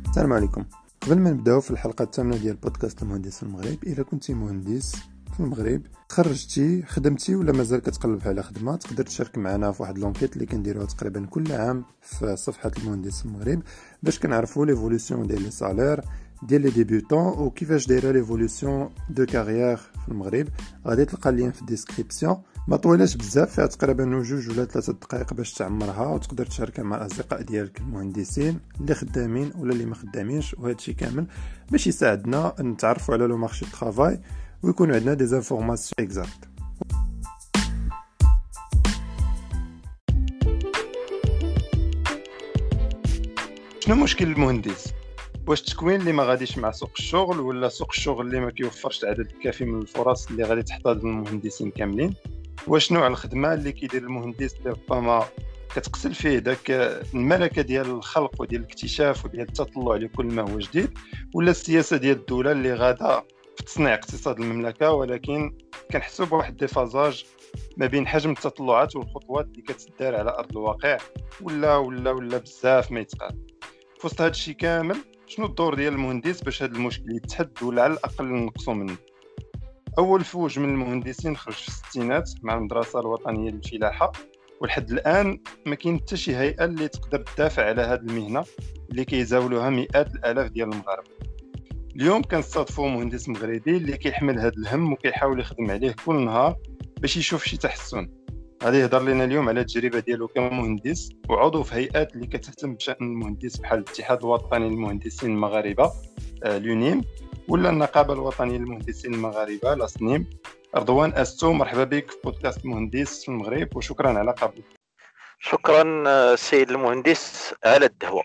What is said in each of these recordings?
السلام عليكم. قبل ما نبداو في الحلقه الثامنه ديال بودكاست المهندس في المغرب، الا كنتي مهندس في المغرب تخرجتي خدمتي ولا مازال كتقلب على خدمه، تقدر تشارك معنا في واحد لونكيت اللي كنديروها تقريبا كل عام في صفحه المهندس في المغرب باش كنعرفوا ليفولوسيون ديال لي سالير ديال لي ديبيوتون وكيفاش دايره ليفولوسيون دو كارير في المغرب. غادي تلقى اللين في الديسكريبسيون، ما طويلاش بزاف، فيها تقريبا 2 ولا 3 دقائق باش تعمرها وتقدر تشاركها مع الاصدقاء ديالك المهندسين اللي خدامين ولا اللي ما خدامينش، وهذا الشيء كامل باش يساعدنا نتعرفوا على لو مارشي دو طرافاي ويكون عندنا دي انفورماسيون اكزاكت. شنو مشكل المهندس؟ واش التكوين اللي ما غاديش مع سوق الشغل، ولا سوق الشغل اللي ما كيوفرش العدد الكافي من الفرص اللي غادي تحتاج للمهندسين كاملين؟ واش نوع الخدمه اللي كيدير المهندس اللي ربما كتقتل فيه داك الملكه ديال الخلق وديال الاكتشاف وديال التطلع لكل ما هو جديد، ولا السياسه ديال الدوله اللي غادا في تصنيع اقتصاد المملكه ولكن كنحسوا بواحد ديفازاج ما بين حجم التطلعات والخطوات اللي كتدار على ارض الواقع، ولا بزاف ما يتقال. في وسط هذا الشيء كامل شنو الدور ديال المهندس باش هذا المشكل يتحد ولا على الاقل نقصوا منه؟ اول فوج من المهندسين خرج في الستينات مع المدرسه الوطنيه للفلاحه، ولحد الان ما كاين حتى شي هيئه اللي تقدر تدافع على هذه المهنه اللي كيزاولوها مئات الالاف ديال المغاربه. اليوم كنستضيفوا مهندس مغربي اللي كيحمل هذا الهم وكيحاول يخدم عليه كل نهار باش يشوف شي تحسن. غادي يهضر لنا اليوم على التجربه ديالو كمهندس وعضو في هيئات اللي كتهتم بشان المهندس بحال الاتحاد الوطني للمهندسين المغاربه لونيم، ولا النقابه الوطنيه للمهندسين المغاربه لاسنيم. رضوان أستو، مرحبا بك في بودكاست مهندس في المغرب وشكرا على قبولك. شكرا السيد المهندس على الدعوة.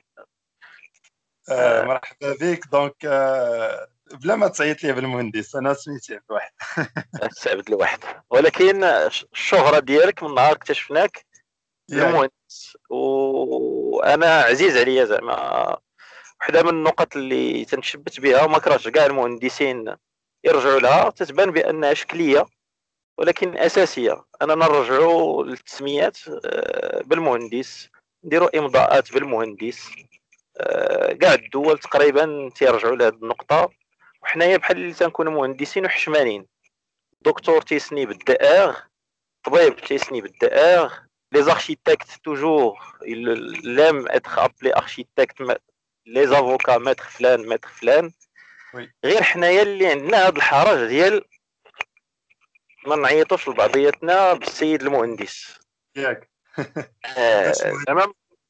مرحبا بك. دونك بلا ما تعيط لي بالمهندس، انا سميتي عبد الواحد. عبد الواحد، ولكن الشهرة ديالك من نهار اكتشفناك المهندس، وانا عزيز عليا زعما وحده من النقط اللي تنشبت بها وما كرهتش كاع المهندسين يرجعوا لها، تتبان بانها شكليه ولكن اساسيه، اننا نرجعوا للتسميات بالمهندس، نديروا امضاءات بالمهندس. كاع الدول تقريبا تيرجعوا لهذه النقطه، وحنايا بحال اللي تنكونوا مهندسين وحشمانين. دكتور تيسني بالدائغ، طبيب تيسني بالدائغ، لي زاركيتكت توجور لام اتخ ابلي اركيتكت، لي زافوكا ماتر فلان ماتر فلان. غير حنايا اللي عندنا هذا الحرج ديال ما نعيطوش لبعضياتنا بالسيد المهندس ياك. زعما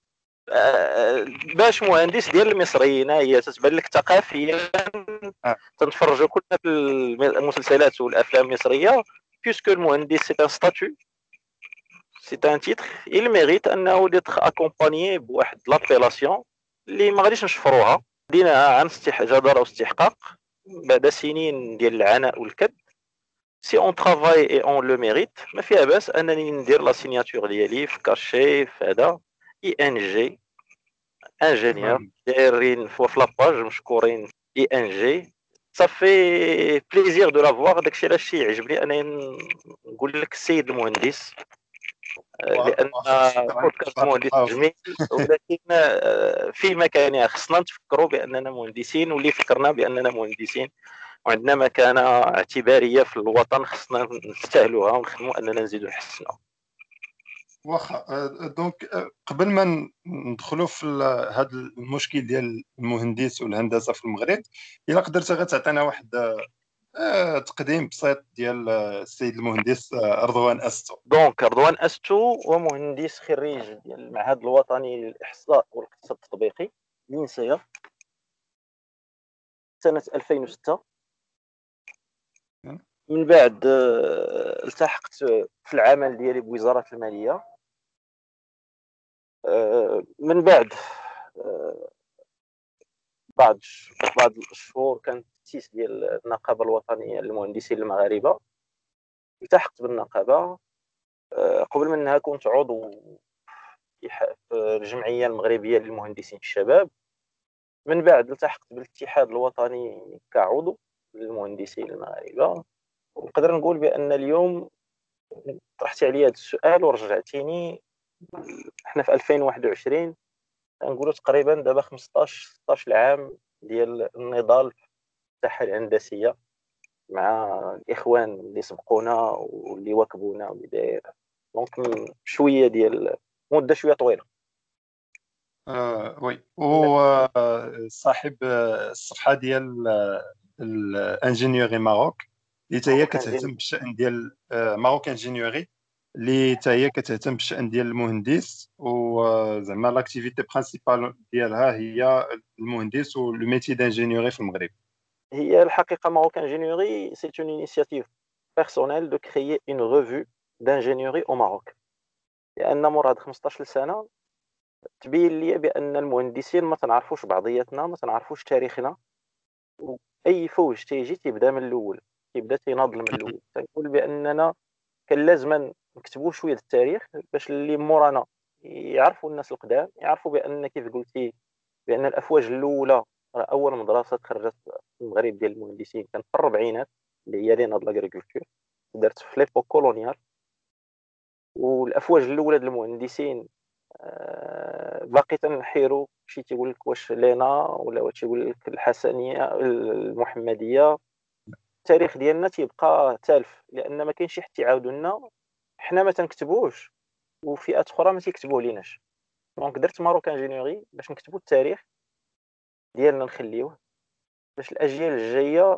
باش مهندس ديال المصريين هي تتبان لك ثقافيا. تنتفرجوا كلنا في المسلسلات والافلام المصريه، بيسكو المهندس سي ان ستاتيو، سي ان تيتر، il mérite انه d'être accompagné بواحد لابيلاسيون اللي ما غاديش نشفروها، ديناها عن جدارة واستحقاق بعد سنين ديال العناء والكد. سي اون ترافاي اي اون لو ميريت، ما فيها باس انني ندير لا سيناتور ديالي في كاشي في هذا اي ان جي انجينيور دايرين في لاباج مشكورين اي ان جي. صافي بليزير دو لافوار. داكشي علاش يعجبني انا نقول لك السيد المهندس، لان بودكاست مهندس جميل، ولكن في مكانها خصنا نتفكروا باننا مهندسين، واللي فكرنا باننا مهندسين وعندنا مكانه اعتباريه في الوطن خصنا نستاهلوها ونخدموا اننا نزيدوا نحسنوا. واخا. دونك قبل ما ندخلوا في هذا المشكل ديال المهندس والهندسه في المغرب، الا قدرت غتعطينا واحد تقديم بسيط ديال السيد المهندس رضوان أستو. دونك رضوان أستو هو مهندس خريج ديال المعهد الوطني للإحصاء والاقتصاد التطبيقي لينسيا سنة 2006. من بعد التحقت في العمل ديالي بوزارة المالية. من بعد بعد الشهور كان التأسيس ديال النقابة الوطنية للمهندسين المغاربة، التحقت بالنقابة. قبل منها كنت عضو في الجمعية المغربية للمهندسين الشباب. من بعد التحقت بالاتحاد الوطني كعضو للمهندسين المغاربة. ونقدر نقول بأن اليوم طرحت عليا هذا السؤال ورجعتيني، احنا في 2021 نقولوا تقريبا دابا 15 16 عام ديال النضال في الساحه الهندسيه مع الاخوان اللي سبقونا واللي واكبونا واللي داير. دونك شويه ديال مده شويه طويله. وي وصاحب الصفحه ديال الانجينيوري ماروك اللي حتى هي ماروكان جيني. كتهتم بالشان ديال ماروك انجينيوري، اللي حتى هي كتهتم بالشان ديال المهندس، وزعما لاكتيفيتي برينسيبال ديالها هي المهندس والميتي دانجينيوري في المغرب. هي الحقيقه ماروكان جينيوري سي اون انيشياتيف personnelle de créer une revue d'ingénierie au Maroc. لان مور هاد 15 سنه تبين لي بان المهندسين ما تنعرفوش بعضياتنا، ما تنعرفوش تاريخنا، واي فوج تيجي تيبدا من الاول، تيبدا تيناضل من الاول. تنقول باننا كان لازم نكتبوا شويه د التاريخ باش اللي مورانا يعرفوا، الناس القدام يعرفوا بان كيف قلتي بان الافواج الاولى، اول مدرسه تخرجت في المغرب ديال المهندسين كانت في الربعينات، اللي هي لينا د لاغريكولتور، دارت في ليبوك كولونيال. والافواج الاولى ديال المهندسين باقي تنحيروا، شي تيقول لك واش لينا ولا واش تيقول لك الحسنيه المحمديه. التاريخ ديالنا تيبقى تالف لان ما كاينش حتى يعاودوا لنا، حنا ما تنكتبوش وفئات اخرى ما تيكتبوه ليناش. دونك درت ماروك انجينيوري باش نكتبوا التاريخ ديالنا، نخليوه باش الاجيال الجايه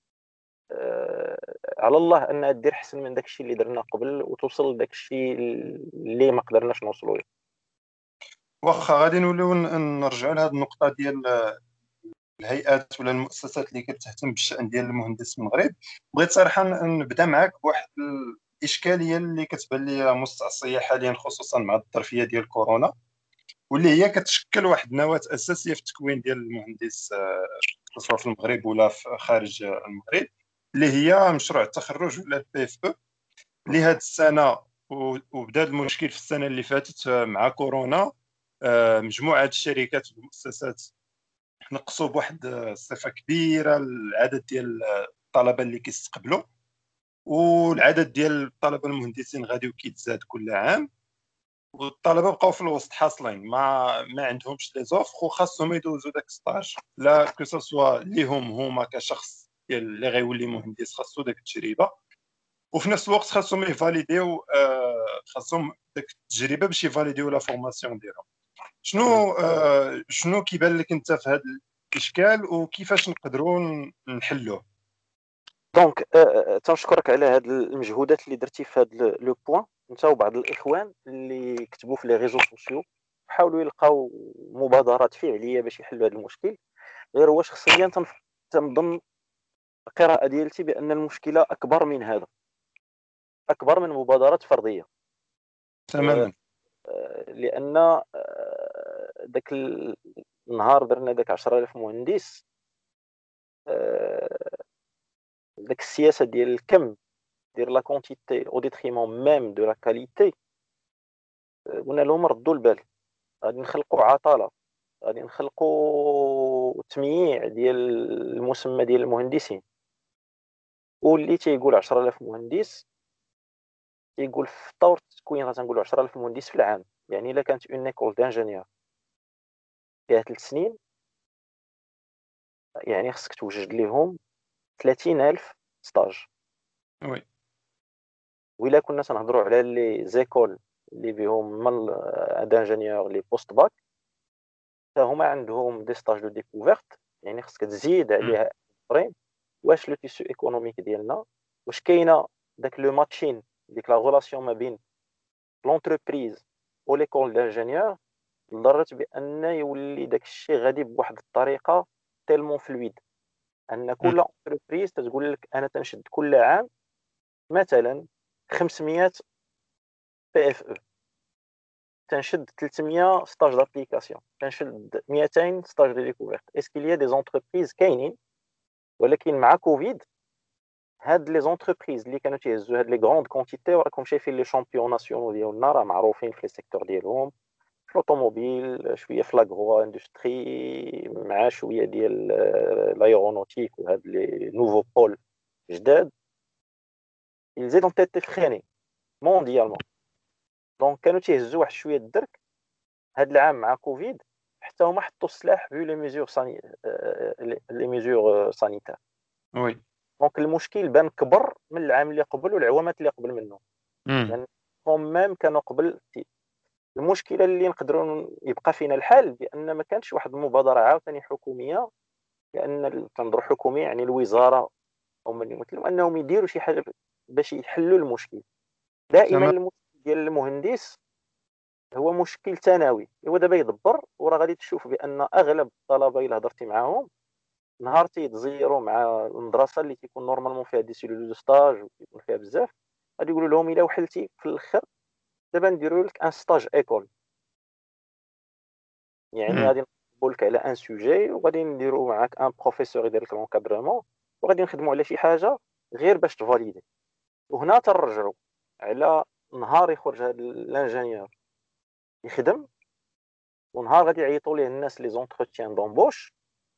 على الله انها دير احسن من داكشي اللي درنا قبل وتوصل لداكشي اللي ما قدرناش نوصلوا له. واخا غادي نوليو نرجعوا لهاد النقطه ديال الهيئات ولا المؤسسات اللي كتهتم بالشان ديال المهندس في المغرب. بغيت صراحه نبدا معك بواحد الاشكاليه اللي كتبان لي مستعصيه حاليا، خصوصا مع الظرفيه ديال كورونا، واللي هي كتشكل واحد النواه اساسيه في التكوين ديال المهندس، سواء في المغرب ولا في خارج المغرب، اللي هي مشروع التخرج ولا البي اف او، اللي هاد السنه وبدا المشكل في السنه اللي فاتت مع كورونا. مجموعه الشركات والمؤسسات نقصوا بواحد الصفه كبيره العدد ديال الطلبه اللي كيستقبلوا، والعدد ديال الطلبه المهندسين غادي وكيتزاد كل عام، والطلبه بقاو في الوسط حاصلين ما عندهمش لي زوفر، وخاصهم يدوزوا داك ستاج، لا كو سوا ليهم هما كشخص ديال اللي غيولي مهندس خاصو داك التجربه، وفي نفس الوقت خاصهم يفاليديو، خاصهم داك التجربه باش يفاليديو لا فورماسيون ديالهم. شنو كيبان لك انت في هذا الاشكال، وكيفاش نقدروا نحلوه؟ دونك تنشكرك على هاد المجهودات اللي درتي في هاد لو بوين، انت وبعض الاخوان اللي كتبوا في لي ريزو سوسيو حاولوا يلقاو مبادرات فعليه باش يحلوا هذا المشكل. غير هو شخصيا تنظن القراءه ديالتي بان المشكله اكبر من هذا، اكبر من مبادرات فرديه. تماما. لان داك النهار درنا داك 10000 مهندس، داك السياسه ديال الكم دير لا كونتيتي او ديتريمون ميم دو لا كاليتي، قلنا لهم ردوا البال، غادي نخلقوا عطله، غادي نخلقوا تمييع ديال المسمى ديال المهندسين. واللي تيقول 10000 مهندس تيقول في طور التكوين غتنقولوا 10000 مهندس في العام. يعني الا كانت اون ايكول دانجينيور فيها 3 سنين، يعني خصك توجد لهم 30000 ستاج. وي. وإلا كنا تنهضروا على لي زيكول اللي بهم من دانجينيور لي بوست باك، حتى هما عندهم دي ستاج دو ديكوفيرت، يعني خصك تزيد عليها اخرين. واش لو تيسو ايكونوميك ديالنا، واش كاينه داك لو ماتشين، ديك لا غولاسيون ما بين لونتربريز و ليكول دانجينيور، لدرجه بان يولي داك الشيء غادي بواحد الطريقه تيلمون فلويد، ان كل انتربريز تتقول لك انا تنشد كل عام مثلا 500 بي اف او، تنشد 300 ستاج دابليكاسيون، تنشد 200 ستاج دو ديكوفيرت. اسكيل يا دي زونتربريز كاينين، ولكن مع كوفيد هاد لي زونتربريز اللي كانوا تيهزوا هاد لي غروند كونتيتي، وراكم شايفين لي شامبيون ناسيونال ديالنا راه معروفين في لي سيكتور ديالهم، في لوطوموبيل شويه، في لاغرو اندستري، مع شويه ديال لايرونوتيك وهاد لي نوفو بول جداد. ils ont été freinés مونديالمون. دونك كانوا تيهزوا واحد شويه الدرك. هاد العام مع كوفيد حتى هما حطوا السلاح في لي ميزور سانيتير. وي. دونك المشكل بان كبر من العام اللي قبل والعوامات اللي قبل منه، لان هم ميم كانوا قبل المشكله اللي نقدروا يبقى فينا الحال بان ما كانش واحد المبادره عاوتاني حكوميه، لان التنظير الحكومي يعني الوزاره او من يمثلوا انهم يديروا شي حاجه باش يحلوا المشكل. دائما تمام. المشكل ديال المهندس هو مشكل ثانوي، هو دابا يدبر وراه غادي تشوف بان اغلب الطلبه الا هضرتي معاهم نهار تيتزيروا مع المدرسه اللي تيكون نورمالمون فيها دي سيلول دو ستاج ويكون فيها بزاف، غادي يقولوا لهم الا وحلتي في الاخر دابا نديروا لك ان ستاج ايكول، يعني غادي نقول لك على ان سوجي وغادي نديروا معاك ان بروفيسور يدير لك لونكادرمون وغادي نخدموا على شي حاجه غير باش تفاليدي. وهنا تنرجعوا على نهار يخرج هذا الانجينيور يخدم، ونهار غادي يعيطوا ليه الناس لي زونتروتيان دومبوش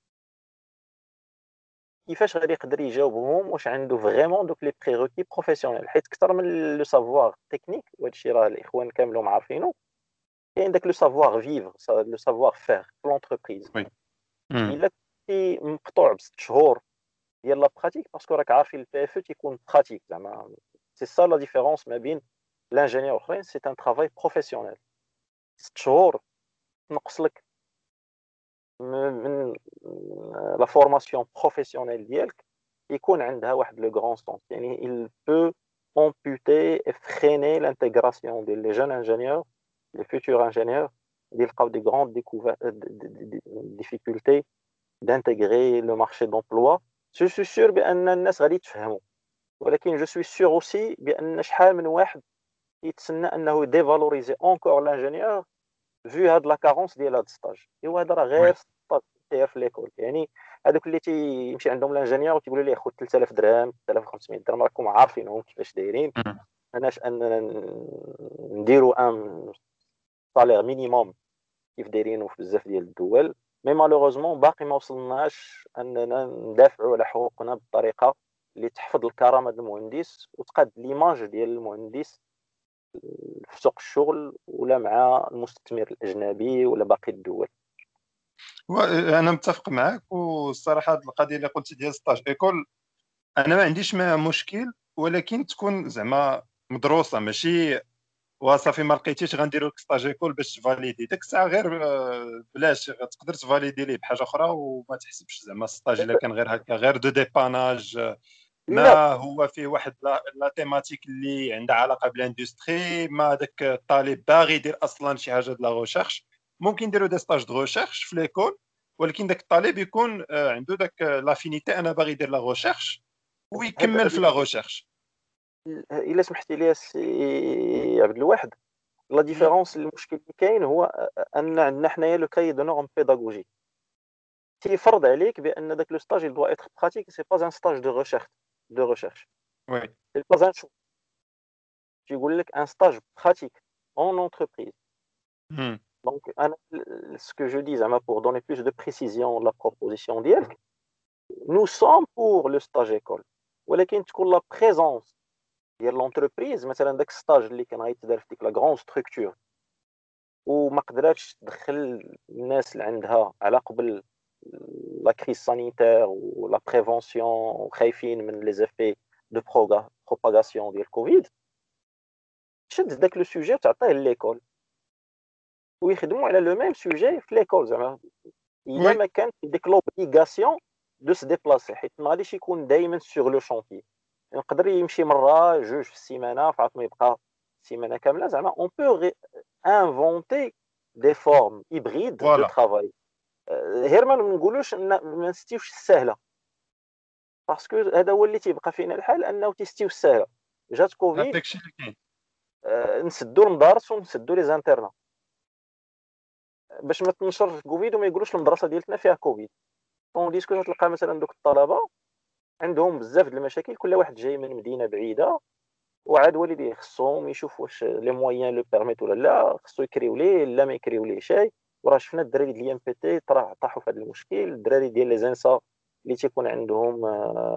كيفاش غادي يقدر يجاوبهم واش عنده فريمون دوك لي بريروكي بروفيسيونيل، حيت اكثر من لو سافوار تكنيك وهذا الشيء راه الاخوان كاملهم عارفينه، كاين داك لو سافوار فيفر لو سافوار فير في لونتربريز. وي. الا كنتي مقطوع بست شهور ديال لا براتيك باسكو راك عارفين البي اف تيكون براتيك زعما سي سا لا ديفيرونس ما بين لانجينيور اخرين، سي ان ترافاي بروفيسيونيل. 6 شهور تنقص لك من لا فورماسيون بروفيسيونيل ديالك، يكون عندها واحد لو غران سونس، يعني il peut amputer et freiner l'intégration des jeunes ingénieurs, les futurs ingénieurs, يلقاو des grandes difficultés d'intégrer le marché d'emploi. Je suis sûr بان الناس غادي تفهموا، ولكن je suis sûr aussi بان شحال من واحد يتسنى انه ديفالوريزي encore l'ingénieur vu هاد لا كارونس ديال هاد ستاج. ايوا هذا راه غير وي. ستاج داير في ليكول، يعني هذوك اللي تيمشي عندهم لانجينيور وتيقولوا ليه خذ 3000 درهم 3500 درهم راكم عارفينهم كيفاش دايرين، ماناش اننا نديروا ان صالير مينيموم كيف دايرينه في بزاف ديال الدول. مي مالوغوزمون باقي ما وصلناش اننا ندافعوا على حقوقنا بالطريقه اللي تحفظ الكرامه ديال المهندس وتقاد ليماج ديال المهندس في سوق الشغل ولا مع المستثمر الاجنبي ولا باقي الدول. انا متفق معك، والصراحه هاد القضيه اللي قلتي ديال ستاج ايكول انا ما عنديش معها مشكل، ولكن تكون زعما مدروسه، ماشي وصافي ما لقيتيش غنديروا لك ستاج ايكول باش تفاليدي ديك الساعه غير بلاش تقدر تفاليدي ليه بحاجه اخرى وما تحسبش زعما ستاج الا كان غير هكا غير دو ديباناج، لا ما هو فيه واحد لا تيماتيك اللي عندها علاقه بالاندستري، ما داك الطالب باغي يدير اصلا شي حاجه د لا ريشيرش، ممكن نديروا دي ستاج دو ريشيرش في ليكول، ولكن داك الطالب يكون عنده داك لافينيتي انا باغي يدير لا ريشيرش ويكمل في لا ريشيرش. الا سمحتي لي سي عبد الواحد، لا ديفيرونس المشكل اللي كاين هو ان عندنا حنايا لو كاي دو نورم بيداغوجي تيفرض عليك بان داك لو ستاج il doit être pratique, c'est pas un stage de recherche وي. c'est pas un choix. تيقول لك un stage pratique en entreprise. Donc ce que je dis زعما pour donner plus de précision la proposition ديالك, nous sommes pour le stage école, ولكن تكون لا بريزونس ديال لونتربريز مثلا داك الستاج اللي كان غيتدار في ديك لا غران ستركتور وما قدراتش تدخل الناس اللي عندها على قبل لا كريز سانيتير ولا بريفونسيون وخايفين من لي زيفي دو بروباغاسيون ديال كوفيد, تشد داك لو سوجي وتعطيه ليكول ويخدموا على لو ميم سوجي في ليكول. زعما الا وي. ما كان ديك لوبليغاسيون دو سي ديبلاسي, حيت ما غاديش يكون دائما سور لو شونتي, يقدر يمشي مره جوج في السيمانه فعاد ما يبقى سيمانه كامله. زعما اون بو انفونتي دي فورم هيبريد دو فوالا. ترافاي, غير ما نقولوش ما نستيوش السهله, باسكو هذا هو اللي تيبقى فينا الحال انه تيستيو السهله. جات كوفيد هذاك الشيء اللي كاين. نسدوا المدارس ونسدوا لي زانترنا باش ما تنشرش كوفيد وما يقولوش المدرسه ديالتنا فيها كوفيد. اون ديسكو تلقى مثلا دوك الطلبه عندهم بزاف د المشاكل, كل واحد جاي من مدينه بعيده وعاد والديه خصهم يشوف واش لي مويان لو بيرميت ولا لا, خصو يكريو ليه لا ما يكريو ليه شي. وراه شفنا الدراري ديال الام بي تي طاحوا في هذا المشكل, الدراري ديال لي زانسا اللي تيكون عندهم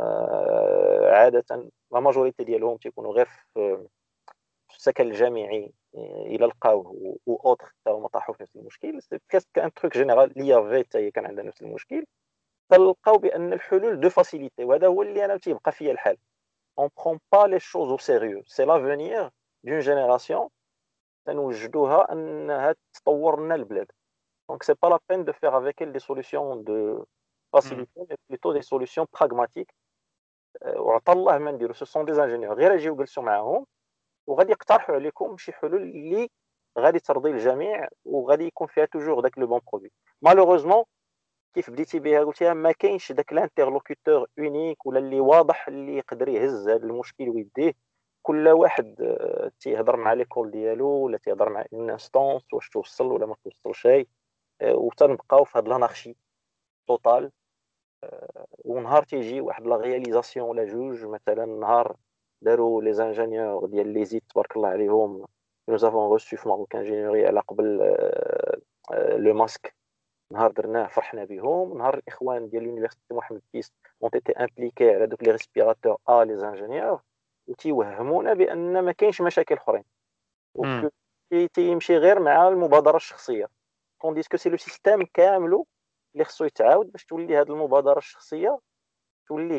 عاده لا ماجوريتي ديالهم تيكونوا غير في السكن الجامعي الى لقاوه و اوتر حتى هما طاحوا في المشكل، سي بريسك ان تروك جينيرال اللي يافي حتى هي كان عندها نفس المشكل. تلقاو بان الحلول دو فاسيليتي، وهذا هو اللي انا تيبقى فيا الحال. اون برون با لي شوز او سيريو، سي لافونيغ دون جينيراسيون تنوجدوها انها تطور لنا البلاد. دونك سي با لا بين دو فير افيك دي سوليوشن دو فاسيليتي، مي بلوتو دي سوليوشن براغماتيك. وعطى الله ما نديرو، سو سون دي انجينيور غير يجيو جلسوا معاهم وغادي يقترحوا عليكم شي حلول اللي غادي ترضي الجميع وغادي يكون فيها توجور داك لو بون برودوي. مالوغوزمون كيف بديتي بها قلتيها، ما كاينش داك الانترلوكوتور اونيك ولا اللي واضح اللي يقدر يهز هذا المشكل ويديه. كل واحد تيهضر مع ليكول ديالو ولا تيهضر مع اون انستونس واش توصل ولا ما توصلش شيء، وتنبقاو في هذا لانارشي توتال. ونهار تيجي واحد لا رياليزاسيون ولا جوج، مثلا نهار داروا لي زانجينيور ديال لي زيت تبارك الله عليهم، nous avons reçu في ماروك انجينيوري على قبل لو ماسك، نهار درناه فرحنا بهم. نهار الاخوان ديال لونيفرسيتي محمد كيس اون تيتي امبليكي على دوك لي ريسبيراتور لي زانجينيور، وتيوهمونا بان ما كاينش مشاكل اخرين، و تيمشي غير مع المبادره الشخصيه. كونديس كو سي لو سيستيم كاملو اللي خصو يتعاود باش تولي هذه المبادره الشخصيه تولي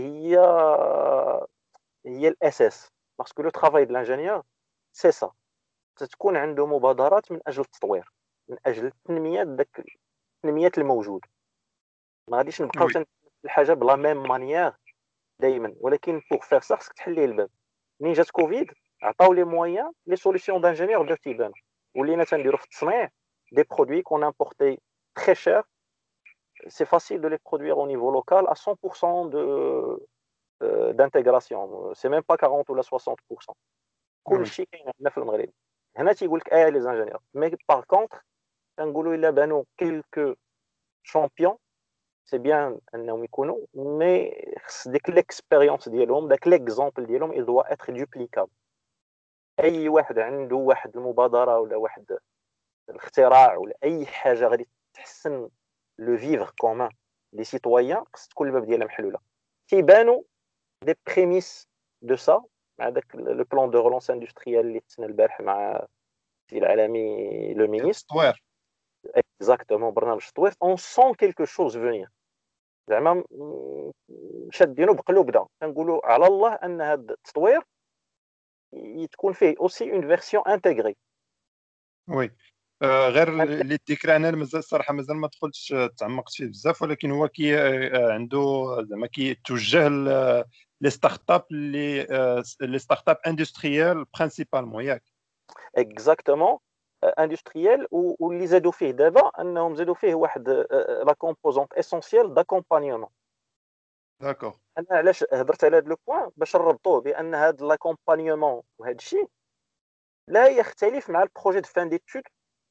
هي الاساس. باسكو لو ترافاي دو لانجينيور سي سا، تكون عنده مبادرات من اجل التطوير، من اجل تنميه الموجود. ما غاديش نبقاو الحاجه بلا ميم مانيير دائما، ولكن بوغ فير سا خصك تحلي الباب. منين جات كوفيد عطاو لي مويان لي سوليسيون دانجينيور بداو تيبانو، ولينا تنديرو في التصنيع دي برودوي كون امبورتي تري شير. سي فاسيل دو لي برودوير او نيفو لوكال ا 100% d'intégration. C'est même pas 40 ou 60%. كل شيء كاين عندنا في المغرب. هنا تيقول لك لي زانجينيور، مي باغ كونتر تنقولوا الا بانوا كيلكو شامبيون سي بيان انهم يكونوا، مي خص ديك ليكسبيريونس ديالهم، داك ليكزامبل ديالهم il doit être duplicable. اي واحد عنده واحد المبادره ولا واحد الاختراع ولا اي حاجه غادي تحسن لو فيفر كومون لي سيتويان، خص تكون الباب ديالها محلوله. تيبانوا دي بريميس دو سا مع داك لو بلان دو رولونس اندستريال اللي تسنى البارح مع السي العالمي لو مينيستر. اكزاكتومون برنامج التطوير. اون سون كيلكو شوز فينير، زعما شادينو بقلوبنا. كنقولوا على الله ان هذا التطوير تكون فيه اوسي اون فيرسيون انتيغري. وي غير اللي الذكر انا مازال الصراحه مازال ما دخلتش تعمقت فيه بزاف، ولكن هو كي عنده زعما كيتوجه لي ستارت اب لي ستارت اب اندستريال برينسيبالمون ياك. اكزاكتومون اندستريال، واللي زادوا فيه دابا انهم زادوا فيه واحد لا كومبوزونت اسونسيال داكومبانيومون. داكور. انا علاش هضرت على هذا لو بوين باش نربطوه بان هذا لاكومبانيومون وهذا الشيء لا يختلف مع البروجي دو فان ديتود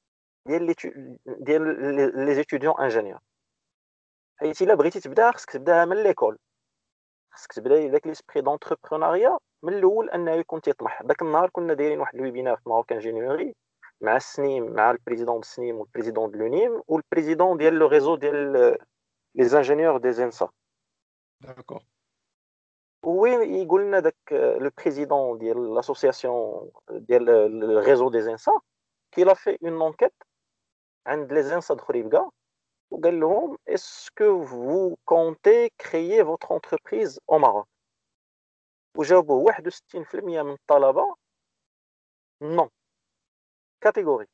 ديال لي ستوديون انجينيور. حيت الا بغيتي تبدا خصك تبداها من ليكول، خصك تبدا داك ليسبري دونتربرونيا من الاول انه يكون تيطمح. داك النهار كنا دايرين واحد الويبينار في ماروك انجينيوري مع السنيم، مع البريزيدون السنيم والبريزيدون دو لونيم والبريزيدون ديال لو ريزو ديال لي زانجينيور دي زينسا. داكور. وين يقول لنا داك لو بريزيدون ديال لاسوسياسيون ديال الريزو دي زينسا كي لا في اون انكيت عند لي زينسا د خريبكا، وقال لهم اسكو فو كونتي كريي فوتر انتربريز او ماروك، وجاوبوا 61% من الطلبه نو كاتيجوريك.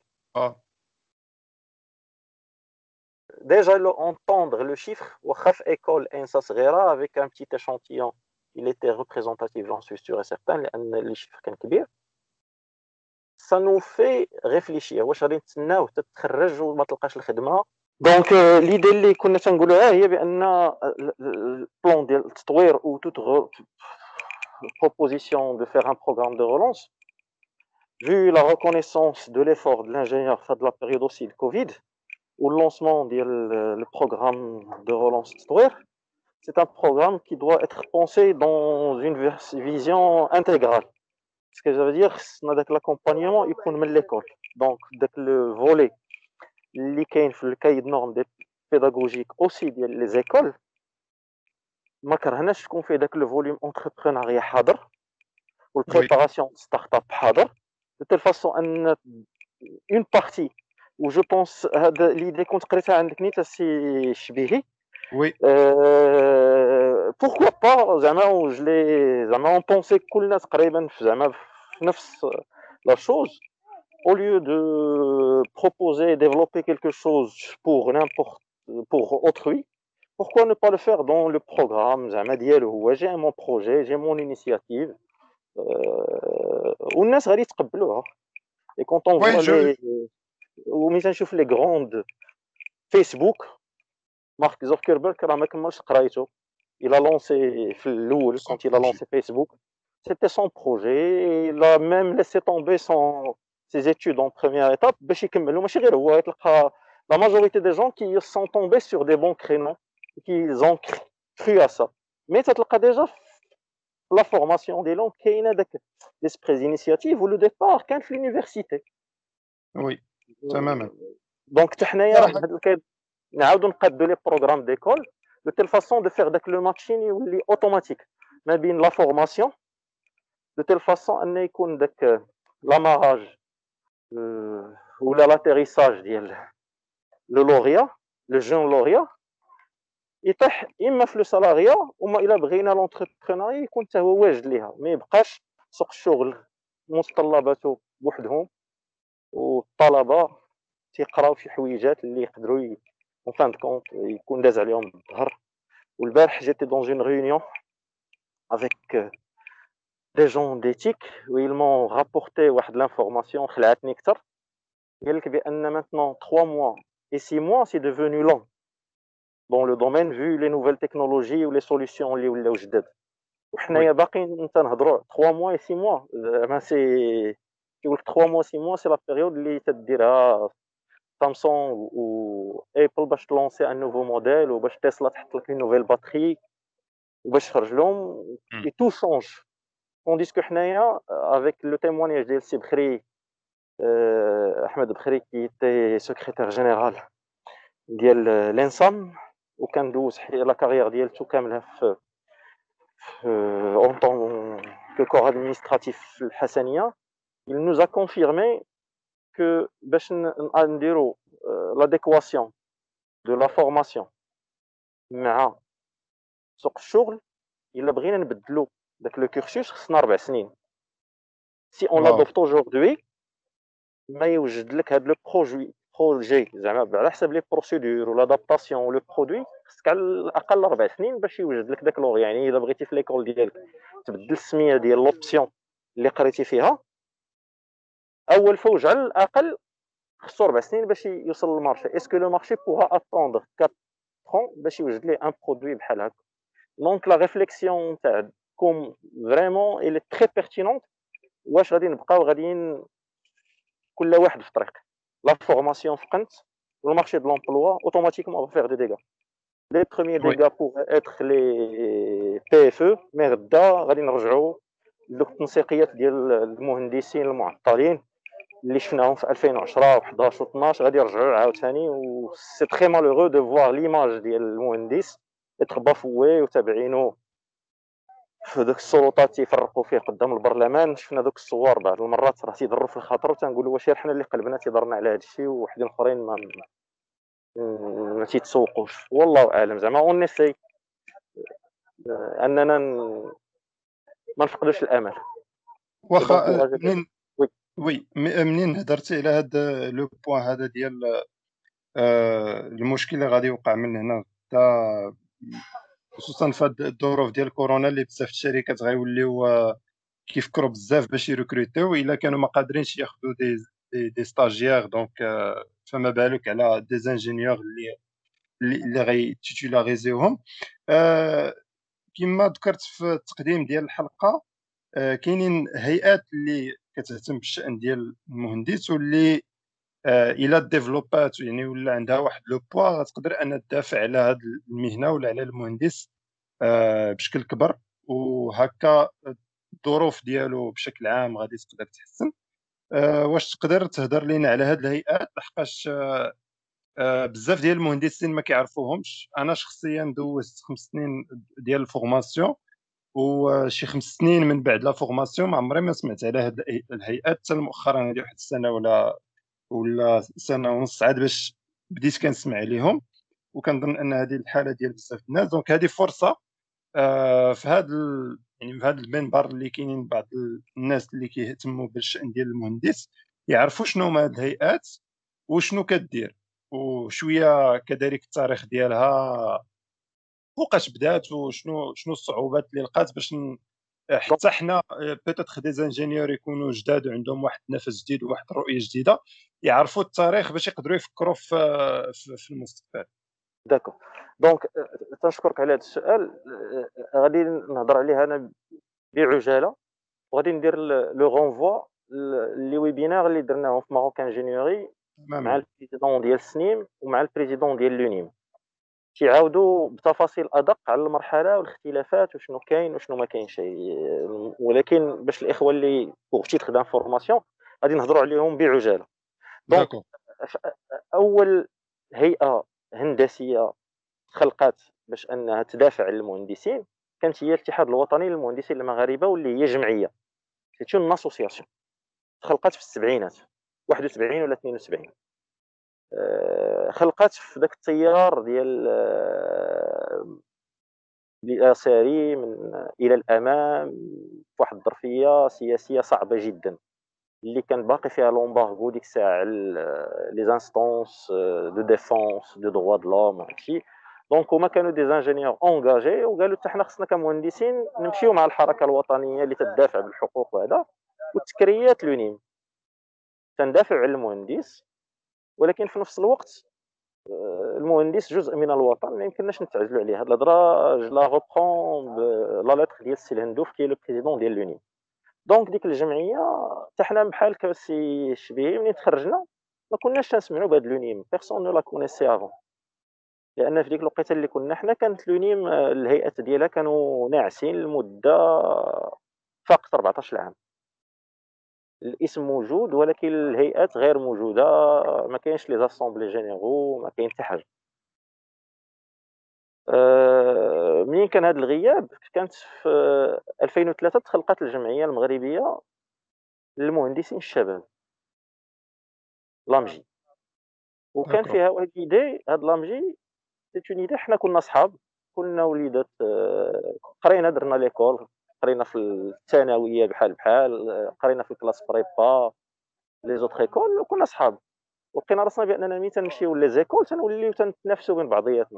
Déjà, entendre le chiffre, école ENSA صغيرة avec un petit échantillon, il était représentatif, j'en suis sûr et certain, les chiffres كان كبير. Ça nous fait réfléchir. واش غادي نتسناو حتى تخرج وما تلقاش الخدمة؟ دونك ليدي اللي كنا تنقولوها هي بأن البلان ديال التطوير ou toute proposition de faire un programme de relance, vu la reconnaissance de l'effort de l'ingénieur face de la période aussi de Covid, ou le lancement du programme de relance Twitter, c'est un programme qui doit être pensé dans une vision intégrale. Ce que ça veut dire, c'est que l'accompagnement il peut de l'école. Donc, le volet, le cahier de normes pédagogiques aussi des écoles, ما كرهناش تكون فيه داك le volume entrepreneuriat حاضر والبريباراسيون start-up حاضر، de telle façon ان une partie وجو بونس هاد ليدي كنت قريتها عندك نيت السي شبيهي. وي بوركوا با زعما زعما اون بونسي كل الناس تقريبا زعما في نفس لا شوز. Au lieu de proposer, développer quelque chose pour n'importe, pour autrui, pourquoi ne pas le faire dans le programme زعما ديالو هو j'ai mon projet, j'ai mon initiative, والناس غادي يتقبلوها. Et quand on وي voit جو les وملي تنشوف les grandes فيسبوك، مارك زوكربيرغ راه ما كملش قرايته. Il a lancé في الاول سون quand il a بروجي. lancé Facebook, c'était son projet. Il a même laissé tomber ses études en première étape باش يكملوا. ماشي غير هو، تلقى la majorité des gens qui sont tombés sur des bons créneaux et qui ont cru à ça. Mais تلقى déjà la formation ديالهم كاينه داك l'esprit d'initiative و le départ كان في l'université. وي تماما. دونك حتى حنايا صراحه بهذا الكاين نعاودوا نقادوا لي بروغرام ديكول de telle façon de faire داك لو ماتشين يولي اوتوماتيك ما بين لا فورماسيون de telle façon ان يكون داك لاماراج ولا لاتيريساج ديال لو لوريا لو جون لوريا يطيح اما في لو سالاريا، وما الا بغينا لونتربرونيا يكون حتى هو واجد ليها، ما يبقاش سوق الشغل متطلباته بوحدهم والطلبه تيقراو شي حويجات اللي يقدروا اون فان كونت يكون داز عليهم الظهر. والبارح جيتي دون اون ريونيون avec des gens d'éthique où ils m'ont rapporté واحد l'information خلعتني اكثر. قال لك بان maintenant 3 mois et 6 mois c'est devenu long dans le domaine vu les nouvelles technologies ou les solutions اللي ولاو جداد. وحنايا وي باقيين تنهضروا 3 mois et 6 mois زعما سي كيقول لك 3 mois 6 mois سي لا بيريود اللي تديرها سامسونج و ايبل باش تلونسي ان نوفو موديل وباش تسلا تحط لك نوفيل باتري وباش تخرج لهم اي تو شونج. tandis que حنايا avec le témoignage ديال سي بخري احمد بخري كي تي سكرتير جينيرال ديال لانسام وكان دوز لا كارير ديالته كامله في اون طون كو كور ادمينستراتيف في الحسنيه. il nous a confirmé que باش نديرو l'adéquation de la formation مع سوق الشغل الا بغينا نبدلو داك لو كورسوس خصنا 4 سنين. si on واو l'adopte aujourd'hui ما يوجد لك هاد لو بروجي زعما على حسب لي بروسيدور والادابتاسيون ولو برودوي خصك على الاقل 4 سنين باش يوجد لك داك لور. يعني الا بغيتي في ليكول ديالك تبدل السميه ديال لوبسيون اللي قريتي فيها اول فوج على الاقل خصو 4 سنين باش يوصل للمارشي. اسكو لو مارشي بوغا اتوندر 4 ans باش يوجد ليه ان برودوي بحال هكا. دونك لا ريفليكسيون تاعكم فريمون اي تري بيرتينونت. واش غادي نبقاو غاديين كل واحد في طريق لا فورماسيون فقنت المارشي دو لومبلوا اوتوماتيكمون va faire des dégâts. Les premiers وي dégâts pourraient être les PFE مي غدا غادي نرجعوا لدوك التنسيقيات ديال المهندسين المعطلين اللي شفناهم في 2010 و11 و12 غادي يرجعوا عاوتاني. و سي تري مالوغو دو فوار ليماج ديال المهندس اتر بافوي وتابعينو في دوك السلطات تيفرقوا فيه قدام البرلمان. شفنا دوك الصور بعض المرات راه تيضروا في الخاطر وتنقولوا واش حنا اللي قلبنا تيضرنا على هذا الشيء ووحدين اخرين ما تيتسوقوش. والله اعلم. زعما اون نسي اننا ما نفقدوش الامل. واخا منين وي وي منين هضرتي على هذا لو بوين هذا ديال المشكل اللي غادي يوقع من هنا حتى خصوصا في هاد الظروف ديال كورونا اللي بزاف الشركات غيوليو كيفكروا بزاف باش يركروتيو الا كانوا ما قادرينش ياخذوا دي ستاجيير. دونك فما بالك على دي زانجينيور اللي غيتيتولاريزيوهم. كما ذكرت في التقديم ديال الحلقه كاينين هيئات اللي كتهتم بالشأن ديال المهندس واللي الا ديفلوبات يعني ولا عندها واحد لو بوا غتقدر ان تدافع على هذه المهنه ولا على المهندس بشكل كبر. وهكا الظروف ديالو بشكل عام غادي تقدر تحسن. واش تقدر تهضر لينا على هذه الهيئات لحقاش بزاف ديال المهندسين ما كيعرفوهمش. انا شخصيا دوزت 5 سنين ديال الفورماسيون وشي 5 سنين من بعد لا فورماسيون ما عمري ما سمعت على هذه الهيئات حتى مؤخرا هذه واحد السنه ولا ولا سنه ونص عاد باش بديت كنسمع عليهم. وكنظن ان هذه الحاله ديال بزاف الناس، دونك هذه فرصه في هذا يعني في هذا المنبر اللي كاينين بعض الناس اللي كيهتموا بالشأن ديال المهندس يعرفوا شنو هما هاد الهيئات وشنو كدير، وشويه كذلك التاريخ ديالها، فوقاش بدات وشنو الصعوبات اللي لقات باش دونك حتى حنا بيتيتر دي زانجينيور يكونوا جداد وعندهم واحد النفس جديد وواحد الرؤيه جديده، يعرفوا التاريخ باش يقدروا يفكروا في المستقبل. داكو. دونك تنشكرك على هذا السؤال. غادي نهضر عليه انا بعجاله، وغادي ندير لو رونفوا لي ويبينار اللي درناهم في ماروك انجينيوري مع تماما. البريزيدون ديال سنيم ومع البريزيدون ديال لونيم، كيعاودوا بتفاصيل ادق على المرحله والاختلافات وشنو كاين وشنو ما كاينش. ولكن باش الاخوه اللي بوغ تيتر دانفورماسيون غادي نهضروا عليهم بعجاله. دونك داكو. اول هيئه هندسيه خلقات باش انها تدافع عن المهندسين كانت هي الاتحاد الوطني للمهندسين المغاربه، واللي هي جمعيه، سيت اون اسوسياسيون تخلقات في السبعينات، 71 ولا 72. خلقات في ذاك التيار ديال اليساري من الى الامام، في واحد الظرفيه سياسيه صعبه جدا اللي كان باقي فيها لومبارغو ديك الساعه على لي زانستونس دو ديفونس دو دروا د لوم وهادشي. دونك هما كانوا دي زانجينيور اونغاجي، وقالوا حتى حنا خصنا كمهندسين نمشيو مع الحركه الوطنيه اللي تدافع بالحقوق وهذا. والتكريات لونيم تندافع على المهندس، ولكن في نفس الوقت المهندس جزء من الوطن ما يمكنناش نتعزلوا عليه. هاد الهضره جو لا روبرون لا لتر ديال السي الهندوف كي لو بريزيدون ديال لونيم. دونك ديك الجمعيه حتى حنا بحالك السي الشبيبي ملي تخرجنا ما كناش تنسمعوا بهاد لونيم، بيرسون نو لا كونيسي افون، لان في ديك الوقيته اللي كنا حنا كانت لونيم الهيئات ديالها كانوا ناعسين لمده فقط 14 عام. الاسم موجود ولكن الهيئات غير موجوده، ما كاينش لي زاسامبلي جينيرو، ما كاين حتى حاجه. منين كان هذا الغياب كانت في 2003 تخلقت الجمعيه المغربيه للمهندسين الشباب، لامجي. وكان داكو. فيها واحد ليدي، هاد لامجي سيت اون ايدي. حنا كنا صحاب، كنا وليدات، قرينا درنا ليكول، قرينا في الثانويه بحال بحال، قرينا في الكلاس بريبا لي زوتر ايكول وكنا صحاب. ولقينا راسنا باننا ملي تنمشيو لي زيكول تنوليو تنتنافسوا بين بعضياتنا،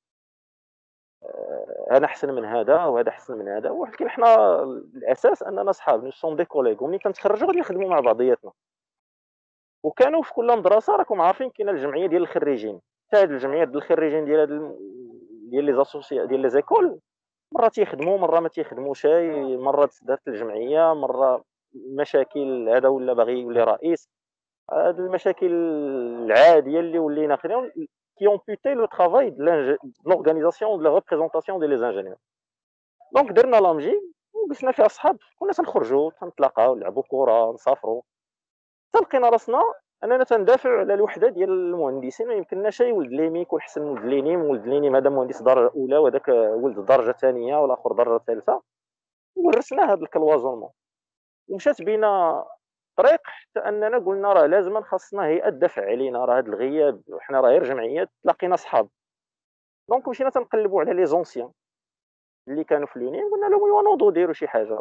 انا احسن من هذا وهذا احسن من هذا. ولكن حنا الاساس اننا صحاب، نو سون دي كوليغ، وملي كنتخرجوا غادي نخدموا مع بعضياتنا. وكانوا في كل مدرسه راكم عارفين كاينه الجمعيه ديال الخريجين. حتى هاد الجمعيه ديال الخريجين ديال ديال لي زاسوسي ديال لي زيكول مره تيخدموا مره ما تيخدموش. مره دارت الجمعيه، مره مشاكل، هذا ولا باغي يولي رئيس. هاد المشاكل العاديه اللي ولينا خداو qui ont amputé le travail de l'organisation de la représentation des les ingénieurs. دونك درنا لامجي وقسنا فيها صحاب، كنا تنخرجوا تنتلاقاو نلعبوا كره نسافروا. تلقينا راسنا اننا تندافع على الوحده ديال المهندسين، ما يمكنناش ولد ليمي يكون حسن من ولد لينيم، ولد لينيم هذا مهندس درجه اولى وهذاك ولد درجه ثانيه والاخر درجه ثالثه. ورسنا هذا الكلوازونمون ومشات بينا طريق حتى اننا قلنا راه لازم خاصنا هيئه تدافع علينا، راه هذا الغياب وحنا راه غير جمعيات. تلاقينا صحاب، دونك مشينا تنقلبوا على لي زونسيان اللي كانوا في لونين، قلنا لهم ايوا نوضوا ديروا شي حاجه.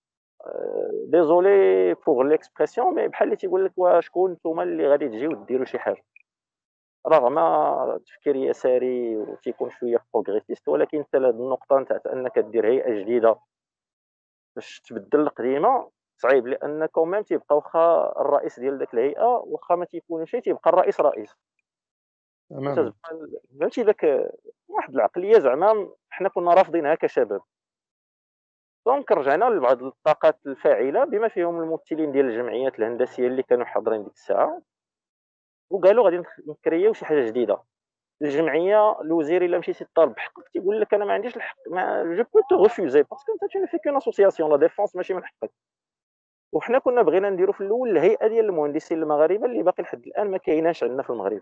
ديزولي بوغ ليكسبرسيون مي بحال اللي تيقول لك واش شكون نتوما اللي غادي تجيو ديروا شي حاجه. رغم تفكير يساري وتيكون شويه بروغريسيست، ولكن حتى لهاد النقطه نتاع انك دير هيئه جديده باش تبدل القديمه صعيب، لان كوميم تيبقى واخا الرئيس ديال داك الهيئه واخا ما تيكونش تيبقى الرئيس رئيس، تماما. وتتبقى فهمتي داك واحد العقليه زعما حنا كنا رافضينها كشباب. دونك رجعنا لبعض الطاقات الفاعله بما فيهم الممثلين ديال الجمعيات الهندسيه اللي كانوا حاضرين ديك الساعه، وقالوا غادي نكريو شي حاجه جديده. الجمعيه الوزير الا مشيتي طالب بحقك تيقول لك انا ما عنديش الحق، ما جو بو تو ريفوزي باسكو انت تو في كون اسوسياسيون لا ديفونس ماشي من حقك. وحنا كنا بغينا نديرو في الاول الهيئه ديال المهندسين المغاربه اللي باقي لحد الان ما كايناش عندنا في المغرب.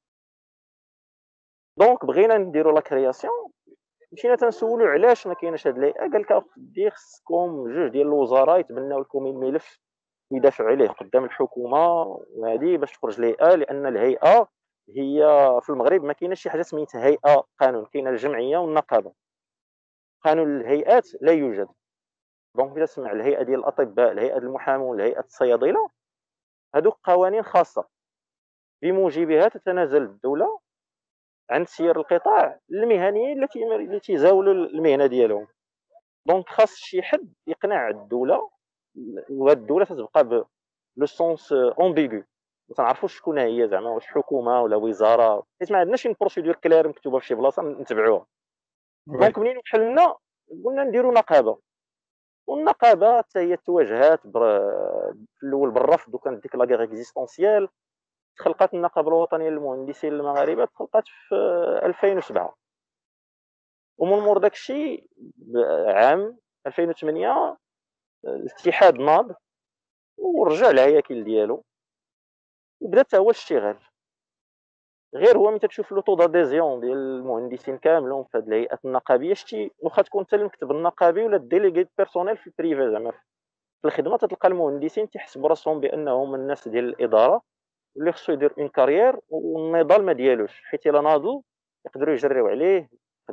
دونك بغينا نديرو لا كرياسيون، مشينا تنسولو علاش ما كايناش هاد الهيئه. قال لك اخدي خصكم جوج ديال الوزراء يتبناو لكم الملف ويدافعوا عليه قدام الحكومه، وهذه باش تخرج الهيئه، لان الهيئه هي في المغرب ما كايناش شي حاجه سميتها هيئه قانون، كاينه الجمعيه والنقابه. قانون الهيئات لا يوجد. دونك اذا تسمع الهيئه ديال الاطباء، الهيئه ديال المحامون، الهيئه الصيادله، هذوك قوانين خاصه بموجبها تتنازل الدوله عن سير القطاع للمهنيين التي زاولوا المهنه ديالهم. دونك خاص شي حد يقنع الدوله، وهاد الدوله تتبقى لو سونس امبيغو، ما تنعرفوش شكون هي زعما، واش حكومه ولا وزاره، حيت ما عندناش شي بروسيدور كلير مكتوبه في شي بلاصه نتبعوها. وي. دونك منين وحلنا قلنا نديروا نقابه، والنقابه حتى هي تواجهات في الاول بالرفض، وكانت ديك لاغيغ اكزيستونسيال. تخلقت النقابه الوطنيه للمهندسين المغاربه، تخلقت في 2007. ومن مور داك الشيء عام 2008 الاتحاد ناض ورجع الهياكل ديالو، وبدا حتى هو الاشتغال. غير هو ملي تشوف لو طو داديزيون ديال المهندسين كاملين في هذه الهيئات النقابيه، شتي واخا تكون انت المكتب النقابي ولا الديليغي بيرسونيل في البريفي، زعما في الخدمه تلقى المهندسين تيحسبوا راسهم بانهم الناس ديال الاداره واللي خصو يدير اون كارير، والنضال ما ديالوش، حيت الا ناضوا يقدروا يجريو عليه،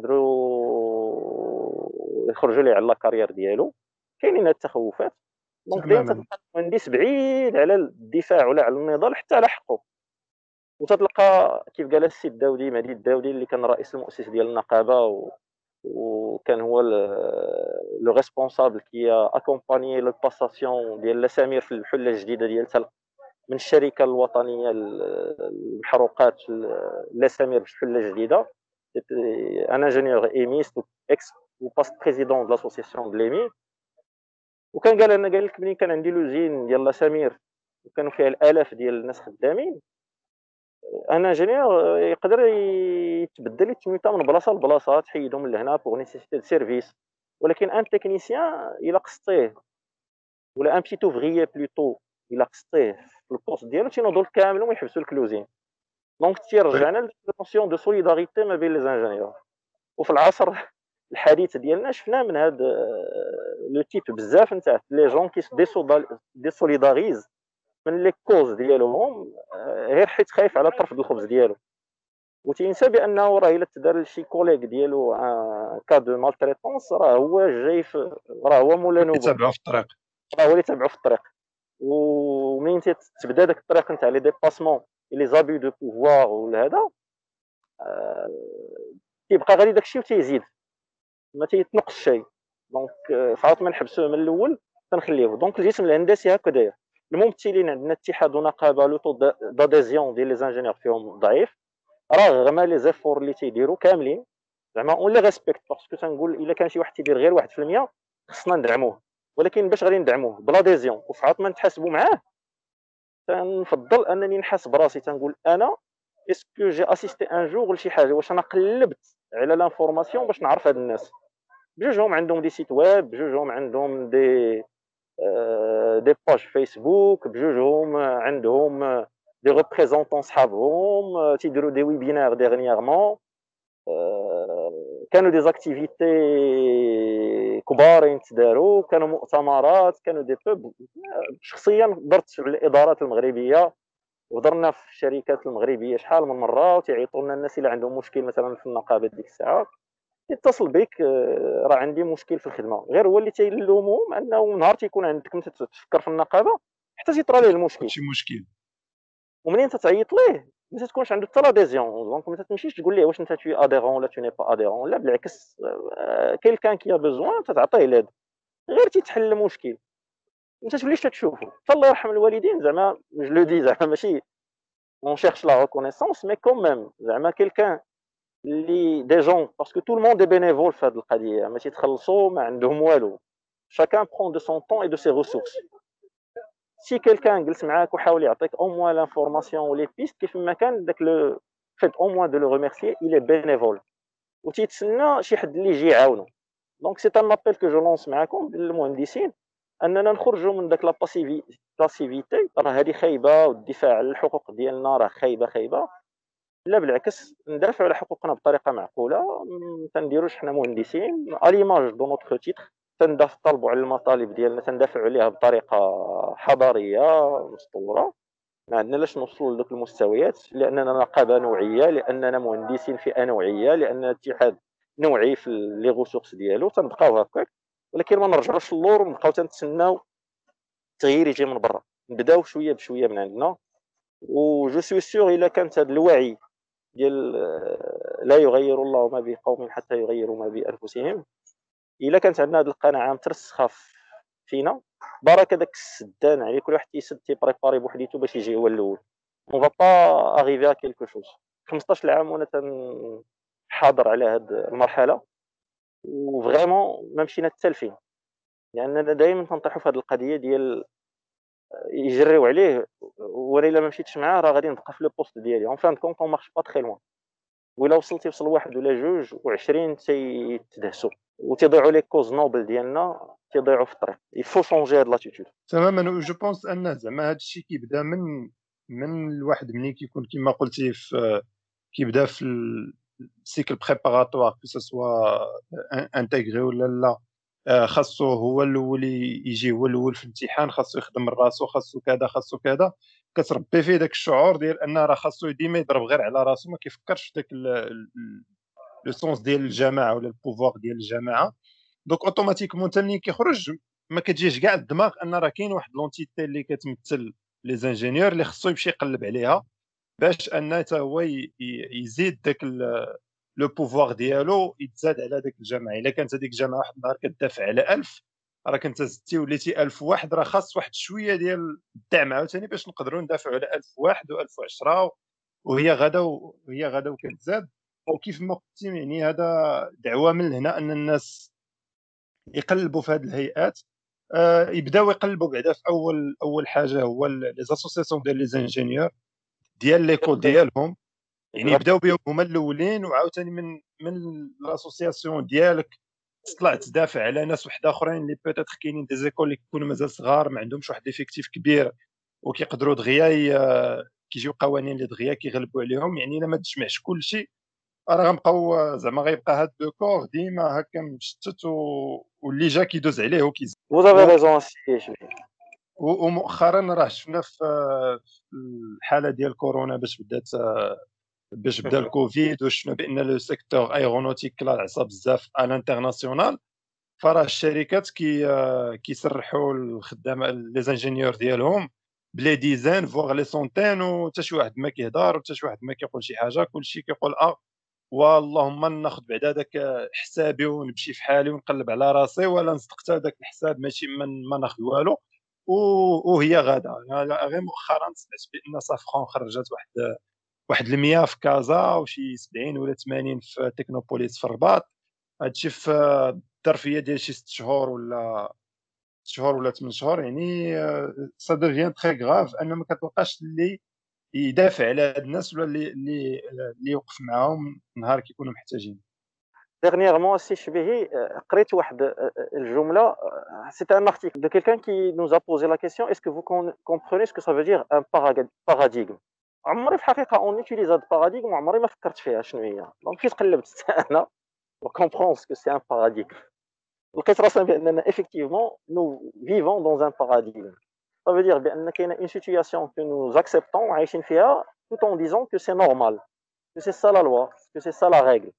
يقدروا يخرجوا ليه على لا كارير ديالو. كاينين هاد التخوفات. دونك دائما تماما. تلقى المهندس بعيد على الدفاع ولا على النضال حتى على حقه. وتتلقى كيف قال السي الداودي، مهدي الداودي، اللي كان رئيس المؤسس ديال النقابه وكان هو لو ريسبونسابل كي اكومباني لو باساسيون ديال لاسامير في الحله الجديده ديال من الشركه الوطنيه للمحروقات لاسامير في الحله الجديده. ان انجينيور ايميست اكس وباست بريزيدون دو لاسوسياسيون دو ليمي. وكان قال انا، قال لك ملي كان عندي لوزين ديال لاسامير وكانوا فيها الالاف ديال الناس خدامين، ان انجينيور يقدر يتبدل يتميتا من بلاصه لبلاصه، تحيدهم من لهنا بوغ نيسيسيتي دو سيرفيس. ولكن ان تكنيسيان الا قصتيه ولا ان بتيت اوفريي بلوتو الا قصتيه في البوست ديالو تينوضوا كاملين ويحبسوا لك لوزين. دونك وي. تيرجعنا للنوسيون دو سوليداريتي ما بين لي زانجينيور. وفي العصر الحديث ديالنا شفنا من هذا لو تيب بزاف نتاع لي جون كي ديسوليداريز من لي كوز ديالهم، غير حيت خايف على طرف الخبز ديالو، وتينسى بانه راه الا تدار لشي كوليغ ديالو كا دو مالتريتونس راه هو جاي راه هو مولا نوبه، كيتابعوا في الطريق. راه هو اللي تبعو في الطريق. ومنين تبدا داك الطريق نتاع لي ديباسمون لي زابي دو بوفوار ولا هذا، كيبقى غادي داكشي وتيزيد ما تيتنقص شيء. دونك فعاوت ما نحبسوه من الاول تنخليوه. دونك الجسم الهندسي هكا داير. الممثلين عندنا اتحاد ونقابه لو طو داديزيون ديال لي زانجينيور فيهم ضعيف، رغم لي زيفور اللي تيديروا كاملين، زعما اون لي ريسبكت، باسكو تنقول الا كان شي واحد تيدير غير 1% خصنا ندعموه. ولكن باش غادي ندعموه بلا ديزيون وفعاوت ما نتحاسبوا معاه، تنفضل انني نحاس براسي تنقول انا اسكو جي اسيستي ان جور لشي حاجه، واش انا قلبت على لانفورماسيون باش نعرف هاد الناس. بجوجهم عندهم دي سيت ويب، بجوجهم عندهم دي باج فيسبوك، بجوجهم عندهم دي ريبريزونطون صحابهم تيديروا دي ويبينار ديغنييغمون، كانوا دي زاكتيفيتي كبارين تداروا، كانوا مؤتمرات، كانوا دي بوب. شخصيا درت في الادارات المغربيه وهضرنا في الشركات المغربيه شحال من مره، وتيعيطوا لنا الناس اللي عندهم مشكل مثلا في النقابه ديك الساعه يتصل بك، راه عندي مشكل في الخدمه. غير هو اللي تيلومهم انه نهار تيكون عندك انت تفكر في النقابه حتى تيطرى ليه المشكل، شي مشكل. ومنين تتعيط ليه ما تكونش عنده حتى لاديزيون. دونك ما تمشيش تقول ليه واش انت توي اديرون ولا تو ني با اديرون، لا بالعكس، كيلكان كي بيزوان تتعطيه لاد، غير تيتحل المشكل ما توليش تشوفه. حتى الله يرحم الوالدين زعما جو لو دي، زعما ماشي اون شيرش لا ريكونيسونس مي كون ميم، زعما كيلكان اللي دي جون، باسكو تو الموند دي بينيفول في هذه القضيه، ما تيتخلصوا ما عندهم والو، chacun prend de son temps et de ses ressources. سي كيلكان جلس معاك وحاول يعطيك او موان لانفورماسيون ولي بيست، كيف ما كان داك لو فيت او موان دو لو ريميرسيي الي بينيفول، وتيتسنى شي حد اللي يجي يعاونو. دونك سي ان ابيل كو جو لونس معاكم المهندسين، اننا نخرجوا من داك لا باسيفيتي، راه هذه خايبه، والدفاع على الحقوق ديالنا راه خايبه. لا بالعكس، ندافعوا على حقوقنا بطريقه معقوله، ما تنديروش حنا مهندسين اليماج دو نوتر تيتر تنطلبوا على المطالب ديالنا، تندافعوا عليها بطريقه حضاريه مستوره. ما عندنا لاش نوصلوا لذوك المستويات، لاننا نقابه نوعيه، لاننا مهندسين فئه نوعيه، لاننا اتحاد نوعي في لي غوسورس ديالو، تنبقاو هكاك. ولكن ما نرجعوش للور ونبقاو تنتسناو التغيير يجي من برا. نبداو شويه بشويه من عندنا. وجو سوي سيغ الا كانت هذا الوعي ديال لا يغير الله ما بقوم حتى يغيروا ما بانفسهم، الا كانت عندنا هذه القناعه مترسخه فينا، برك هذاك السدان عليه كل واحد تيسد تيبريباري بوحديتو باش يجي هو الاول. اون فا با اريفي ا كيلكو شوز. 15 عام وانا تنحاضر على هذه المرحله، وفريمون ما مشينا حتى لفين، لاننا دائما تنطيحوا في هذه القضيه ديال يجريو عليه، وانا الا ما مشيتش معاه راه غادي نبقى في لو بوست ديالي. اون فان كونط اون مارش با تري لوان، وإلا وصلتي وصل واحد ولا جوج و20 تيتدهسوا وتيضيعوا لي كوز نوبل ديالنا، تيضيعوا في الطريق. يفو شونجي هاد لاتيتود تماما. جو بونس ان زعما هذا الشيء كيبدا من الواحد ملي كيكون كما قلتي كيبدا في السيكل بريباراتوار كو سوا انتيغري ولا لا. خاصو هو الاول يجي هو الاول في الامتحان، خاصو يخدم من راسو، خاصو كذا خاصو كذا. كتربي فيه داك الشعور ديال ان راه خاصو ديما يضرب غير على راسو، ما كيفكرش في داك لو سونس ديال الجماعه ولا البوفوار ديال الجماعه. دونك اوتوماتيكمون انت ملي كيخرج ما كتجيش كاع الدماغ ان راه كاين واحد لونتيتي اللي كتمثل لي زانجينيور اللي خصو يمشي يقلب عليها باش ان حتى هو يزيد داك لو بوفوار ديالو يتزاد على داك الجماعه. الا كانت هذيك الجماعه واحد النهار كتدافع على 1000، راه كنت زدتي وليتي 1000 واحد، راه خاص واحد شويه ديال الدعم عاوتاني باش نقدروا ندافعوا على 1000 واحد و1010، وهي غدا وكتزاد. وكيف ما قلتي يعني هذا دعوه من هنا ان الناس يقلبوا في هذه الهيئات. يبداو يقلبوا بعدا في اول حاجه هو لي زاسوسياسيون ديال لي زانجينيور ديال ليكول ديالهم، يعني يبداو بهم هما الاولين. وعاوتاني من لاسوسياسيون ديالك تطلع تدافع على ناس واحد اخرين اللي بيتيتر كاينين دي زيكول اللي كيكونوا مازال صغار ما عندهمش واحد ليفيكتيف كبير وكيقدروا دغيا كيجيو قوانين اللي دغيا كيغلبوا عليهم. يعني الا ما تجمعش كل شيء راه غنبقاو زعما غيبقى هاد لو كور ديما هكا مشتت واللي جا كيدوز عليه وكيزيد. Vous avez raison سي. ومؤخرا راه شفنا في الحاله ديال كورونا باش بدا الكوفيد، وشفنا بان لو سيكتور ايرونوتيك كلا العصا بزاف على الانترناسيونال. فراه الشركات كيسرحوا الخدامه لي زانجينيور ديالهم بلي ديزان فوغ لي سونتين، وحتى شي واحد ما كيهضر وحتى شي واحد ما كيقول شي حاجه. كلشي كيقول واللهم ناخذ بعدا داك حسابي ونمشي في حالي ونقلب على راسي، ولا نصدق حتى داك الحساب ماشي ما ناخذ والو. وهي غادا غير مؤخرا سمعت بان صافخون خرجت واحد 100 في كازا وشي 70 ولا 80 في تكنوبوليس في الرباط. هادشي في الظرفيه ديال شي 6 شهور ولا 8 شهور. يعني سا دوفيان تري غاف ان ما كتلقاش اللي يدافع على هاد الناس ولا اللي يوقف معاهم نهار كيكونوا محتاجين. Dernièrement, si je vais قريت واحد الجملة. C'était un article de quelqu'un qui nous a posé la question: est-ce que vous comprenez ce que ça veut dire un paradigme? عمري في الحقيقة on utilise هذا paradigme وعمري ما فكرت فيها شنو هي. دونك كي تقلبت أنا comprendre ce que c'est un paradigme. لقيت راسنا بأننا effectivement nous vivons dans un paradigme. Ça veut dire بأن كاينة une situation que nous acceptons وعايشين فيها tout en disant que c'est normal, que c'est ça la loi, que c'est ça la règle.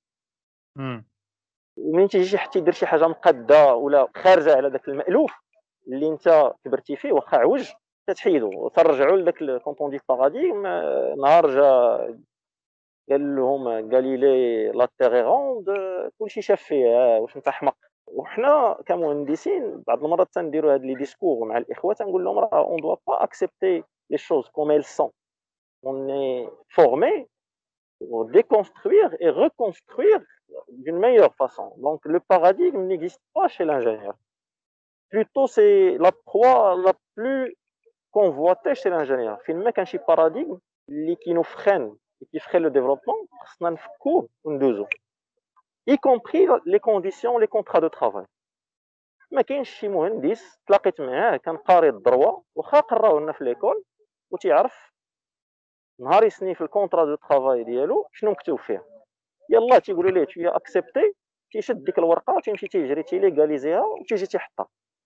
ومين تيجي حتى يدير شي حاجه مقاده ولا خارجه على داك المالوف اللي انت كبرتي فيه واخا عوج، تتحيدو وترجعوا لذاك كونطون دي باراديغم. نهار جا قال لهم غاليلي لا تيغ روند، كلشي شاف فيه واش انت حمق. وحنا كمهندسين بعض المرات تنديروا هاد لي ديسكور مع الاخوه، تنقول لهم راه اون دوا با اكسبتي لي شوز كوم ايل سون، اون اي فورمي pour déconstruire et reconstruire d'une meilleure façon. Donc le paradigme n'existe pas chez l'ingénieur. Plutôt c'est la proie la plus convoitée chez l'ingénieur. Finalement كان شي paradigme اللي nous freine et qui freine le développement، خصنا نفكوه وندوزو. Y compris les conditions, les contrats de travail. ما كاينش شي مهندس تلاقيت معاه كان قاري الدروه واخا قراوه لنا في ليكول وتيعرف نهار يسني في الكونطرا دو طرافاي ديالو شنو مكتوب فيه. يلا تيقولوا ليه tu as accepté تيشد ديك الورقه تيمشي تيجري تيليغاليزيها وتيجي تيحطها.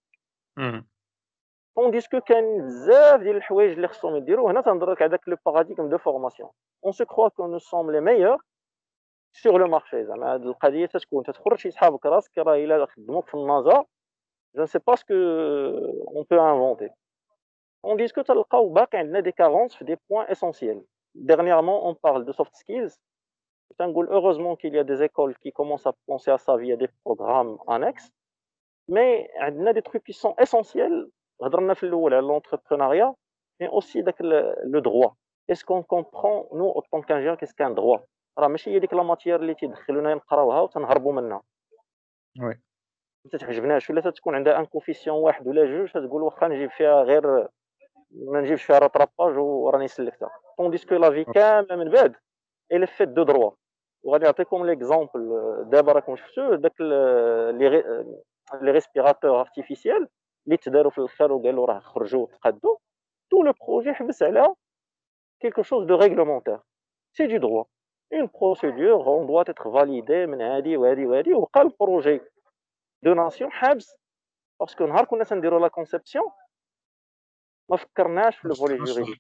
طونديسكو كاين بزاف ديال الحوايج اللي خصهم يديروا. هنا تنهضر لك على داك لو باراديغم دو فورماسيون. اون سو كروا كو نو سوم لي ميور سور لو مارشي. زعما هاد القضيه تتكون تتخرج شي صحابك راسك راه الا خدموك في النازا جو نسي با سكو اون بو انفونتي. طونديسكو تلقاو باقي عندنا دي كارونس في دي بوين اسونسييل. Dernièrement, on parle de soft skills. Heureusement qu'il y a des écoles qui commencent à penser à ça via des programmes annexes. Mais il y a des trucs qui sont essentiels. هضرنا في الأول على l'entrepreneuriat, mais aussi le droit. Est-ce qu'on comprend, nous, en tant qu'ingénieurs, qu'est-ce qu'un droit? راه ماشي هي ديك لا ماتيير اللي تيدخلونا نقراوها وتنهربوا منها. وي. ما تعجبناش ولا تكون عندها ان كوفيسيون واحد ولا جوج تقول واخا نجيب فيها غير ما نجيبش فيها راتراباج وراني سلكتها. طونديسكو لا في كامله من بعد الى فيت دو دروا. وغادي نعطيكم ليكزامبل. دابا راكم شفتوا داك لي ريسبيراتور ارتيفيسيال اللي تداروا في الاخر وقالوا راه خرجوا وتقادوا. تو لو بروجي حبس على quelque chose de réglementaire. C'est du droit. Une procédure, on doit être validé من هادي وهادي وهادي. وبقى البروجي دو ناسيون حابس باسكو نهار كنا تنديروا لا كونسيبسيون ما فكرناش في لو فولي جوريديك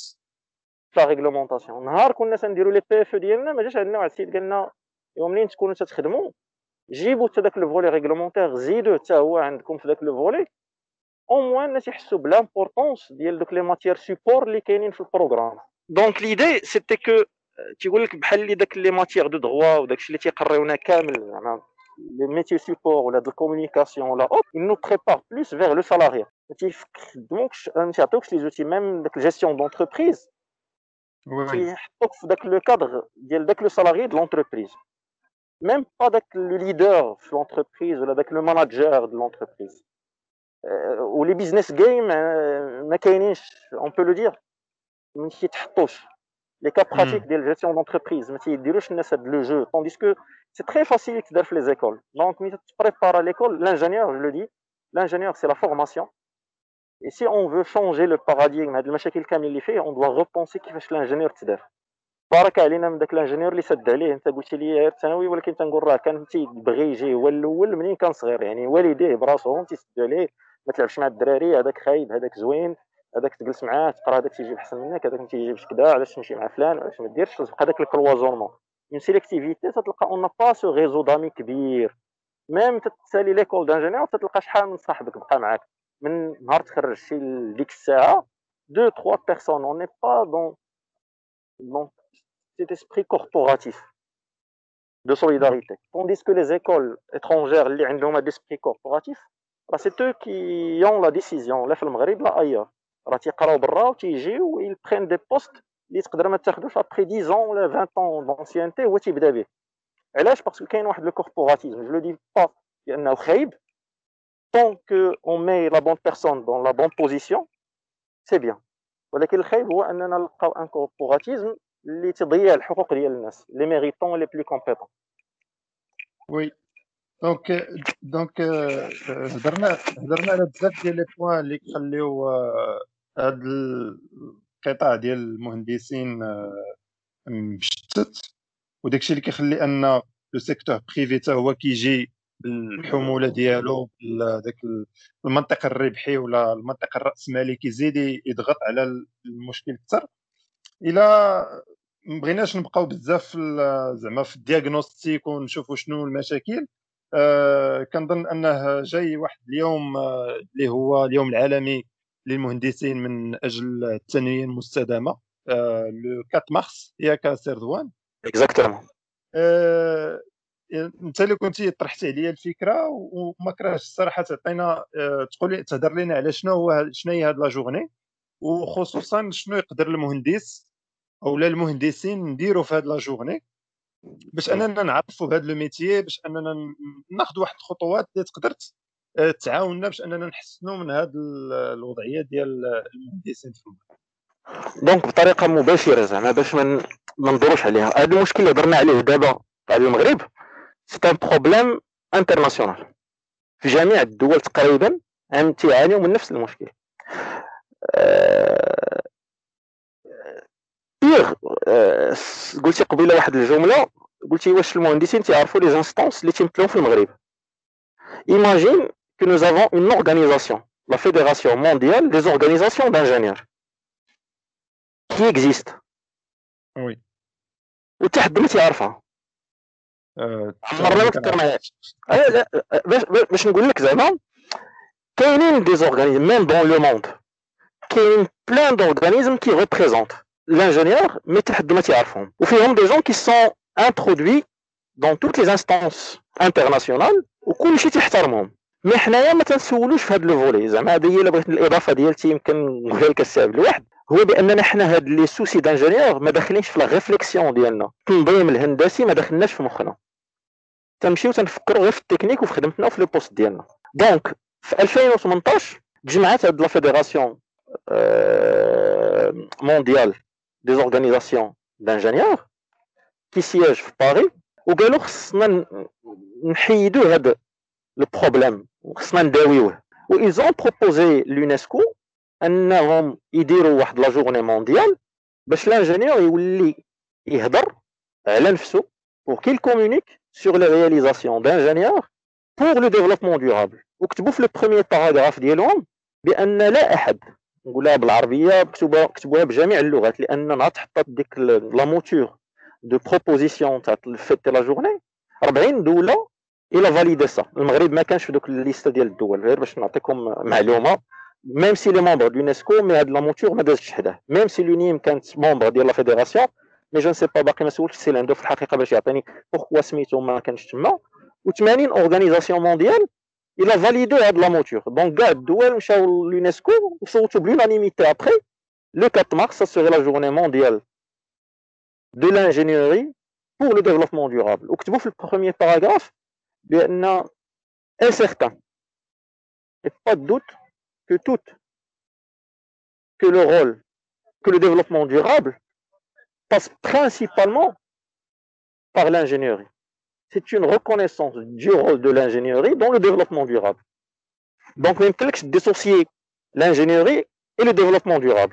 لا ريغلومونطاسيون. نهار كنا تنديروا لي بي اف ديالنا ما جاش عندنا واحد السيد قال لنا يوم منين تكونوا تخدموا جيبوا حتى داك لو فولي ريغلومونتير زيدوه حتى هو عندكم في داك لو فولي او موان الناس يحسوا بلامبورطونس ديال دوك لي ماتيير سيبور اللي كاينين في البروغرام. دونك ليدي سيتي كو تيقول لك بحال اللي داك لي ماتيير دو دروا وداكشي اللي تيقريونا كامل زعما لي ميتي سيبور ولا د الكومونيكاسيون ولا اوت ils nous préparent plus vers le salarié. ما تيخدموكش ما تيعطيوكش لي زوتي ميم داك الجيستيون دونتربريز تيحطوك في داك لو كادر ديال داك لو سالاري د لونتربريز. ميم با داك لو ليدر في لونتربريز ولا داك لو ماناجر د لونتربريز. ولي بيزنس جيم ما كاينينش اون بو لو دير ما تيتحطوش. لي كا براتيك ديال جيستيون دونتربريز ما تيديروش الناس هاد لو جو. طونديسكو سي تري فاسيل يتدار في لي زيكول. دونك ملي تبريبار ليكول لانجينيور جو لو دي l'ingénieur c'est la formation. Et si on veut changer le paradigme هاد المشاكل كامل اللي فيه on doit repenser كيفاش الانجينيور تدار. بارك علينا من داك الانجينيور اللي سد عليه. انت قلتي لي غير الثانوي ولكن تنقول راه كان تيبغي يجي هو الاول منين كان صغير. يعني والديه براسهم تيسدوا عليه ما تلعبش مع الدراري هذاك خايب هذاك زوين هذاك تجلس معاه تقرا هذاك تيجيب احسن منك هذاك ما تيجيبش كذا علاش تمشي مع فلان علاش ما ديرش. تبقى داك الكلوازونمون اون سيليكتيفيتي. تتلقى اون با سو ريزو دامي كبير. ميم تتسالي ليكول دانجينيور تتلقى شحال من صاحبك بقى معاك من نهار تخرجتي لديك الساعه 2 3 بيرسون. اون ني با دون cet esprit corporatif de solidarité. Tandis que les écoles étrangères اللي عندهم هاد l'esprit corporatif راه c'est eux qui ont la décision لا في المغرب لا ailleurs. راه تيقراو برا وتيجيو ils prennent des postes اللي تقدر ما تاخذوش après 10 ans ولا 20 ans d'ancienneté هو تيبدا به. علاش؟ باسكو كاين واحد لو كوربوراتيزم. جو لو دي با لانه خايب. tant que on met la bonne personne dans la bonne position c'est bien. ولكن الخايب هو اننا نلقاو ان كوربوراتيزم اللي تضيع الحقوق ديال الناس لي ميريتون لي بلو كومبيتون. وي. دونك هضرنا على بزاف ديال لي بوين اللي كيخليو هاد القطاع ديال المهندسين مشتت وداكشي اللي كيخلي ان لو سيكتور بريفي حتى هو كيجي بالحموله ديالو داك المنطق الربحي ولا المنطق الراسمالي كيزيد يضغط على المشكل اكثر. الا مبغيناش نبقاو بزاف زعما في الدياغنوستيك ونشوفوا شنو المشاكل. كنظن انه جاي واحد اليوم اللي هو اليوم العالمي للمهندسين من اجل التنميه المستدامه لو 4 مارس ياك سردوان. اكزاكتومون. انت اللي كنتي طرحتي عليا الفكره وما كرهتش الصراحه تعطينا تقول تهضر لنا على شنو هي هاد لا جورني وخصوصا شنو يقدر المهندس او لا المهندسين نديروا في هاد لا جورني باش اننا نعرفوا بهذا لو ميتيي باش اننا ناخذ واحد الخطوات اللي تقدر تعاوننا باش اننا نحسنوا من هذه الوضعيه ديال المهندسين في المغرب. دونك بطريقه مباشره زعما باش ما ندوروش عليها. هذا المشكل اللي هضرنا عليه دابا تاع المغرب سي ان بروبليم انترناسيونال في جميع الدول تقريبا عم تيعانيوا من نفس المشكل. بيغ قلتي قبيله واحد الجمله قلتي واش المهندسين تيعرفوا لي زانستونس اللي تيمثلوا في المغرب. Imagine que nous avons une organisation, la Fédération mondiale des organisations d'ingénieurs, qui existe. وي وحتى حد ما تيعرفها. عمرنا ما فكرناهاش. لا باش نقول لك زعما كاينين دي زورغانيزم ميم دون لو موند، كاينين بلان دورغانيزم كي ريبريزونت l'ingénieur mais حتى حد ما تيعرفهم، وفيهم دي جون كي سون انترودوي دون توت لي انستانس انترناسيونال وكلشي تيحترمهم. مي حنايا ما تنسولوش في هاد لو فولي. زعما هذه هي الا بغيت الاضافه ديالتي يمكن نقولها لك السبب الواحد، هو باننا حنا هاد لي سوسي دانجينيور ما داخلينش في لا ريفليكسيون ديالنا، التنظيم الهندسي ما دخلناش في مخنا، تنمشيو تنفكروا غير في التكنيك وفي خدمتنا وفي لو بوست ديالنا. دونك في 2018 تجمعات هاد لا فيدراسيون مونديال دي زورغانيزاسيون دانجينيور كي سياج في باري، وقالوا خصنا نحيدوا هذا لو بروبليم وخصنا نداويوه. و ils ont proposé l'UNESCO انهم يديروا واحد لا جورني مونديال باش لانجينيور يولي يهضر على نفسه pour qu'il communique sur les réalisations d'ingénieurs pour le développement durable. وكتبوا في لو بروميير باراغراف ديالهم بان لا احد، نقولها بالعربيه كتبوها بجميع اللغات لان نهار تحطات ديك لا موتور دو بروبوزيسيون تاع فيت لا جورني 40 دوله الى فاليدي سا. المغرب ما كانش في دوك الليسته ديال الدول، غير باش نعطيكم معلومه. ميم سي لي مونبر دو يونسكو مي هاد لا موتور ما دازتش حداه. ميم سي لونيم كانت مونبر ديال لا فيدراسيون مي جو نسي با، باقي ما سولتش سي لاندو في الحقيقه باش يعطيني بوركوا سميتو ما كانش تما. و80 اورغانيزاسيون مونديال الى فاليدي هاد لا موتور. دونك كاع الدول مشاو لليونسكو وصوتوا بلونانيميتي. ابري لو 4 مارس ça serait la journée mondiale de l'ingénierie pour le développement durable. وكتبوا في البروميير باراغراف بان est certain et pas de doute que le rôle, que le développement durable passe principalement par l'ingénierie. C'est une reconnaissance du rôle de l'ingénierie dans le développement durable. Donc ما يمكنلكش dissocier l'ingénierie et le développement durable.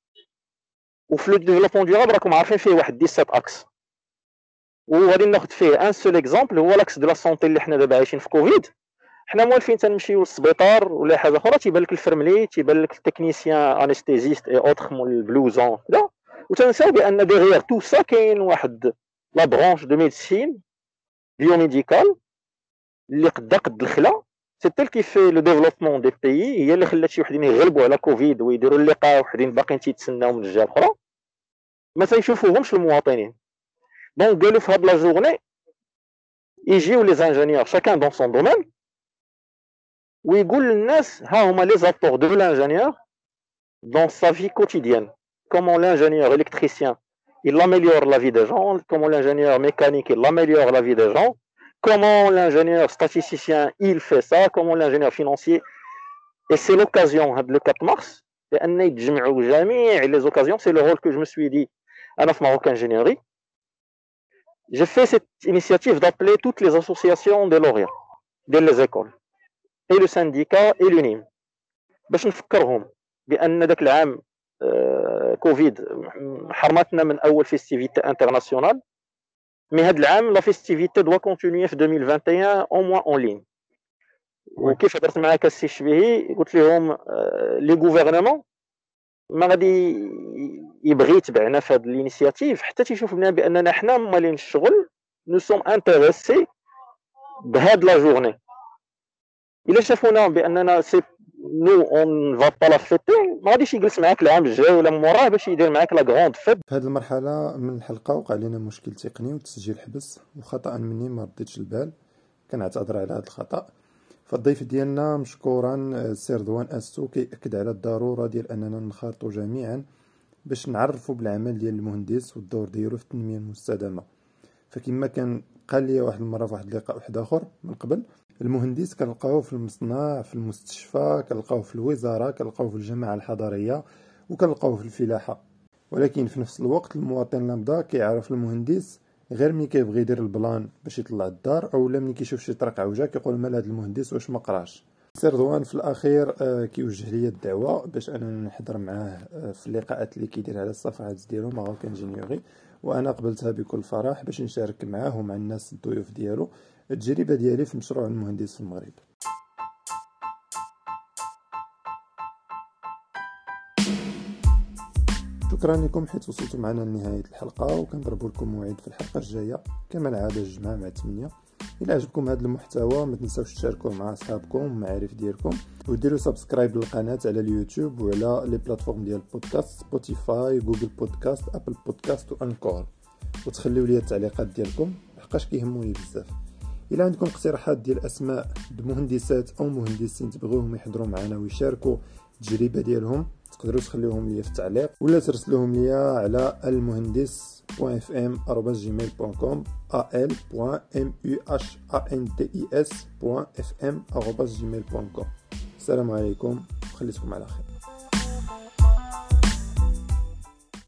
وفي le développement durable راكم عارفين فيه واحد 17 اكس، وغادي ناخذ فيه ان سول اكزامبل هو لاكس دو لا سونتي اللي حنا دابا عايشين في كوفيد. حنا موالفين تنمشيو للسبيطار ولا حاجه اخرى تيبان لك الفرملي، تيبان لك التكنيسيان انستيزيست اي اوتر مول البلوزون كذا، وتنساو بان ديغيغ تو سا كاين واحد لا برونش دو ميديسين بيوميديكال اللي قد الخلا. سي تيل كي في لو ديفلوبمون دي بيي، هي اللي خلات شي وحدين يغلبوا على كوفيد ويديروا اللقاء، وحدين باقيين تيتسناو من الجهه الاخرى ما تيشوفوهمش المواطنين. دونك قالوا في هاد لا جورني يجيو لي زانجينيور شاكان دون سون دومين ويقول للناس ها هما لي زابور دو لانجينيور dans sa vie quotidienne. Comment l'ingénieur électricien il améliore la vie des gens, comment l'ingénieur mécanique il améliore la vie des gens, comment l'ingénieur statisticien il fait ça, comment l'ingénieur financier. Et c'est l'occasion le 4 mars بأن يتجمعوا جميع les occasions. C'est le rôle que je me suis dit أنا في Maroc Ingénierie. J'ai fait cette initiative d'appeler toutes les associations des lauréats, des écoles, et le syndicat et l'UNIM باش نفكرهم بان داك العام كوفيد حرمتنا من اول فيستيفيتي انترناسيونال، مي هاد العام لا فيستيفيتي دوا كونتينيي في 2021 او موان اون لين. وكيف هضرت معاك السي الشبيهي قلت لهم لي غوفرنمون ما غادي يبغي يتبعنا في هاد الانيشياتيف حتى تيشوف بنا باننا حنا مالين الشغل نو سوم انتريسي بهاد لا جورني. الا شافونا باننا سي نو اون فا با لا فيتي ما غاديش يجلس معاك العام الجاي ولا موراه باش يدير معاك لا غروند فيت. في هذه المرحله من الحلقه وقع لنا مشكل تقني والتسجيل حبس، وخطا مني ما رديتش البال، كنعتذر على هذا الخطا. فالضيف ديالنا مشكورا السي رضوان اسو كيأكد على الضروره ديال اننا نخالطوا جميعا باش نعرفوا بالعمل ديال المهندس والدور ديالو في التنميه المستدامه. فكما كان قال لي واحد المره في واحد اللقاء واحد اخر من قبل، المهندس كنلقاوه في المصنع، في المستشفى، كنلقاوه في الوزاره، كنلقاوه في الجماعه الحضريه، وكنلقاوه في الفلاحه. ولكن في نفس الوقت المواطن اللمضه كيعرف المهندس غير ملي كيبغي يدير البلان باش يطلع الدار، او ملي كيشوف شي طريق عوجه كيقول مال هذا المهندس واش ما قراش. سي رضوان في الاخير كيوجه لي الدعوه باش انا نحضر معاه في اللقاءات اللي كيدير على الصفحات ديالو ماروك انجينيوري، وانا قبلتها بكل فرح باش نشارك معاه ومع الناس الضيوف ديالو التجربه ديالي في مشروع المهندس في المغرب. شكرا لكم حيت وصلتوا معنا لنهايه الحلقه، وكنضربوا لكم موعد في الحلقه الجايه كما العاده الجمعه مع 8. الى عجبكم هذا المحتوى ما تنساوش تشاركوه مع اصحابكم والمعارف ديالكم، وديروا سبسكرايب للقناه على اليوتيوب وعلى لي بلاتفورم ديال البودكاست سبوتيفاي جوجل بودكاست ابل بودكاست وانكور، وتخليو لي التعليقات ديالكم لحقاش كيهموني بزاف. الى عندكم اقتراحات ديال اسماء مهندسات او مهندسين تبغوهم يحضروا معنا ويشاركوا التجربه ديالهم تقدروا تخليوهم لي في التعليق ولا ترسلوهم لي على almuhandis.fm@gmail.com al.muhandis.fm@gmail.com. السلام عليكم وخليكم على خير.